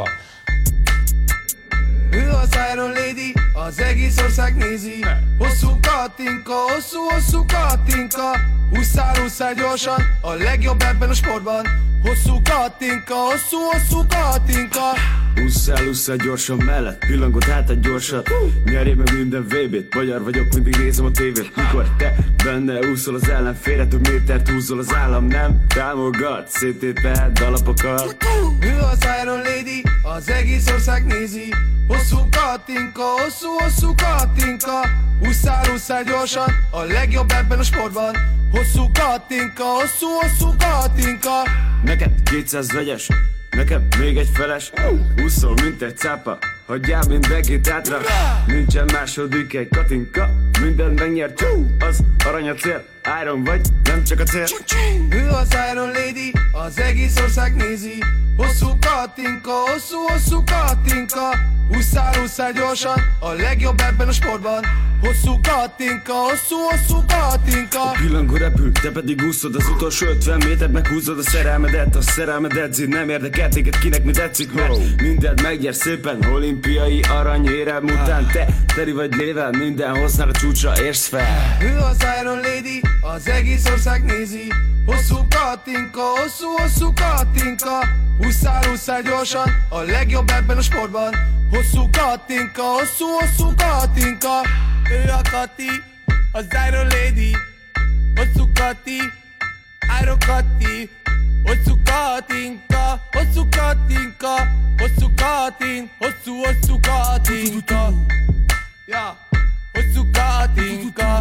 S11: Ő az Iron Lady, az egész ország nézi. Hosszú Katinka, hosszú Katinka. Ússzál gyorsan, a legjobb ebben a sportban. Hosszú Katinka, hosszú Katinka.
S21: Ússzál gyorsan mellett, pillangot átad gyorsan. Nyerjél meg minden VB-t, magyar vagyok, mindig nézem a tévét. Mikor te benne úszol az ellenfélre, több métert húzol az állam, nem támogat, széttéped alapokat.
S11: Ő az Iron Lady, az egész ország nézi. Hosszú Katinka, hosszú Katinka. Ússzál gyorsan, a legjobb ebben a sportban. Hosszú Katinka, hosszú Katinka.
S21: Neked 200 vegyes, nekem még egy feles. Úszol, mint egy cápa, hagyjál mindenkit hátra. Nincsen második egy Katinka, mindent megnyert. Az arany a cél, Iron vagy, nem csak a cél.
S11: Ő az Iron Lady, az egész ország nézi. Hosszú Katinka, hosszú Katinka. Ússzál gyorsan, a legjobb ebben a sportban. Hosszú Katinka, hosszú Katinka.
S21: A pillangó repül, te pedig úszod az utolsó 50 métert, meghúzod a szerelmedet. A szerelmed nem érdekel téged, kinek mi tetszik, mert mindent meggyere szépen. Olimpiai aranyérem után te teri vagy lével, minden hoznál a csúcsra érsz fel.
S11: Ő az Iron Lady, az egész ország nézi. Hosszú Katinka, hosszú Katinka. Ússzál gyorsan, a legjobb ebben a sportban. Hosszú Katinka, hosszú Katinka.
S22: Ő a Kati, az Iron Lady. Hosszú Kati, Iron Kati. Hosszú Katinka, hosszú Katinka. Hosszú Katin, hosszú Katinka. Ja, hosszú Katinka.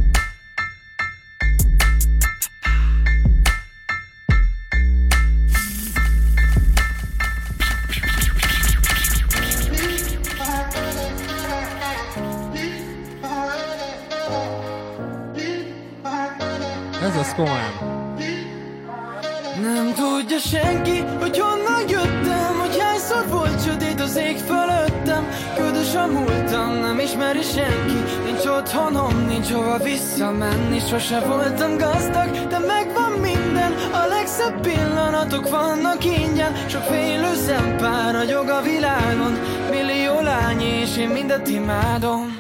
S5: Ez az komolyan.
S22: Nem tudja senki, hogy honnan jöttem, hogy hányszor volt sötét az ég fölöttem. Ködös a múltam, nem ismeri senki. Nincs otthonom, nincs hova visszamenni. Sose voltam gazdag, de megvan minden. A legszebb pillanatok vannak ingyen. Sok félő szempár ragyog a világon. Millió lány és én mindet imádom.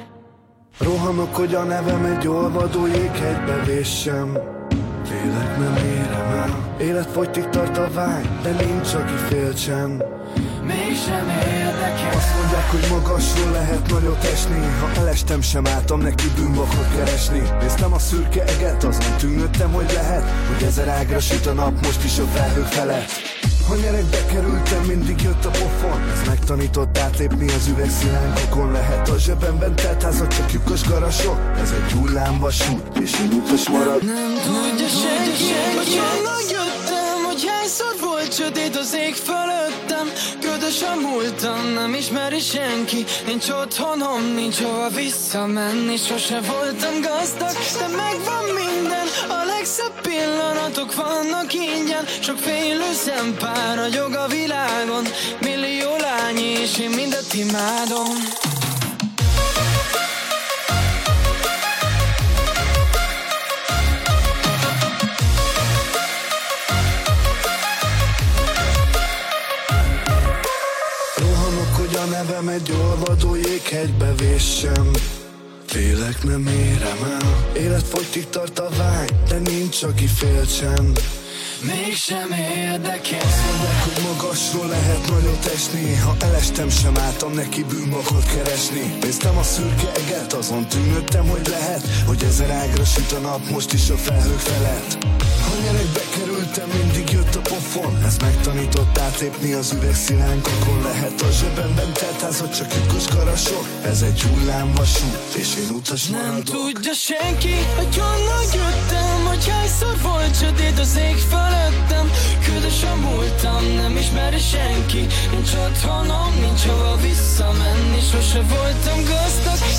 S23: Rohanok, hogy a nevem egy olvadó jéghegybe véssem. Félek, nem érem
S12: érem el. Életfogytig tart a vágy, de nincs aki féltsen.
S22: Mégsem érdekel.
S12: Azt mondják, hogy magasról lehet nagyot esni. Ha elestem, sem álltam neki bűnbakot keresni. Néztem a szürke eget, azon tűnődtem, hogy lehet, hogy 1000 ágra süt a nap most is a felhők felett. Ha nyerekbe kerültem, mindig jött a pofon. Ez megtanított átlépni az üvegszilánkokon. Lehet a zsebemben telt házat, csak lyukos garasok. Ez egy hullámvasút, és én utas marad.
S22: Nem tudja senki, hogy honnan jöttem, hogy hányszor volt sötét az ég fölöttem. Ködös a múltam, nem ismeri senki. Nincs otthonom, nincs hova visszamenni. Sose voltam gazdag, de megvan minden. A legszebb pillanatok vannak ingyen. Sok félő szempár ragyog a világon. Millió lány és én mindet imádom.
S12: A nevem egy olvadó jéghegybe véssem. Félek, nem érem el. Életfogytig tart a vágy, de nincs aki féltsen.
S22: Mégsem érdekel.
S12: Azt mondják, hogy magasról lehet nagyot esni. Ha elestem, sem álltam neki bűnbakot keresni. Néztem a szürke eget, azon tűnődtem, hogy lehet, hogy 1000 ágra süt a nap most is a felhők felett. Ha nyerekbe kerültem, mindig jött a pofon. Ez megtanított átlépni az üvegszilánkokon. Lehet a zsebemben telt házat, csak lyukos garasok. Ez egy hullámvasút, és én utas maradok.
S22: Nem tudja senki, hogy honnan jöttem, hogy hányszor volt sötét az ég fölöttem. Ködös a múltam, nem ismeri senki. Nincs otthonom, nincs hova visszamenni. Sose voltam gazdag,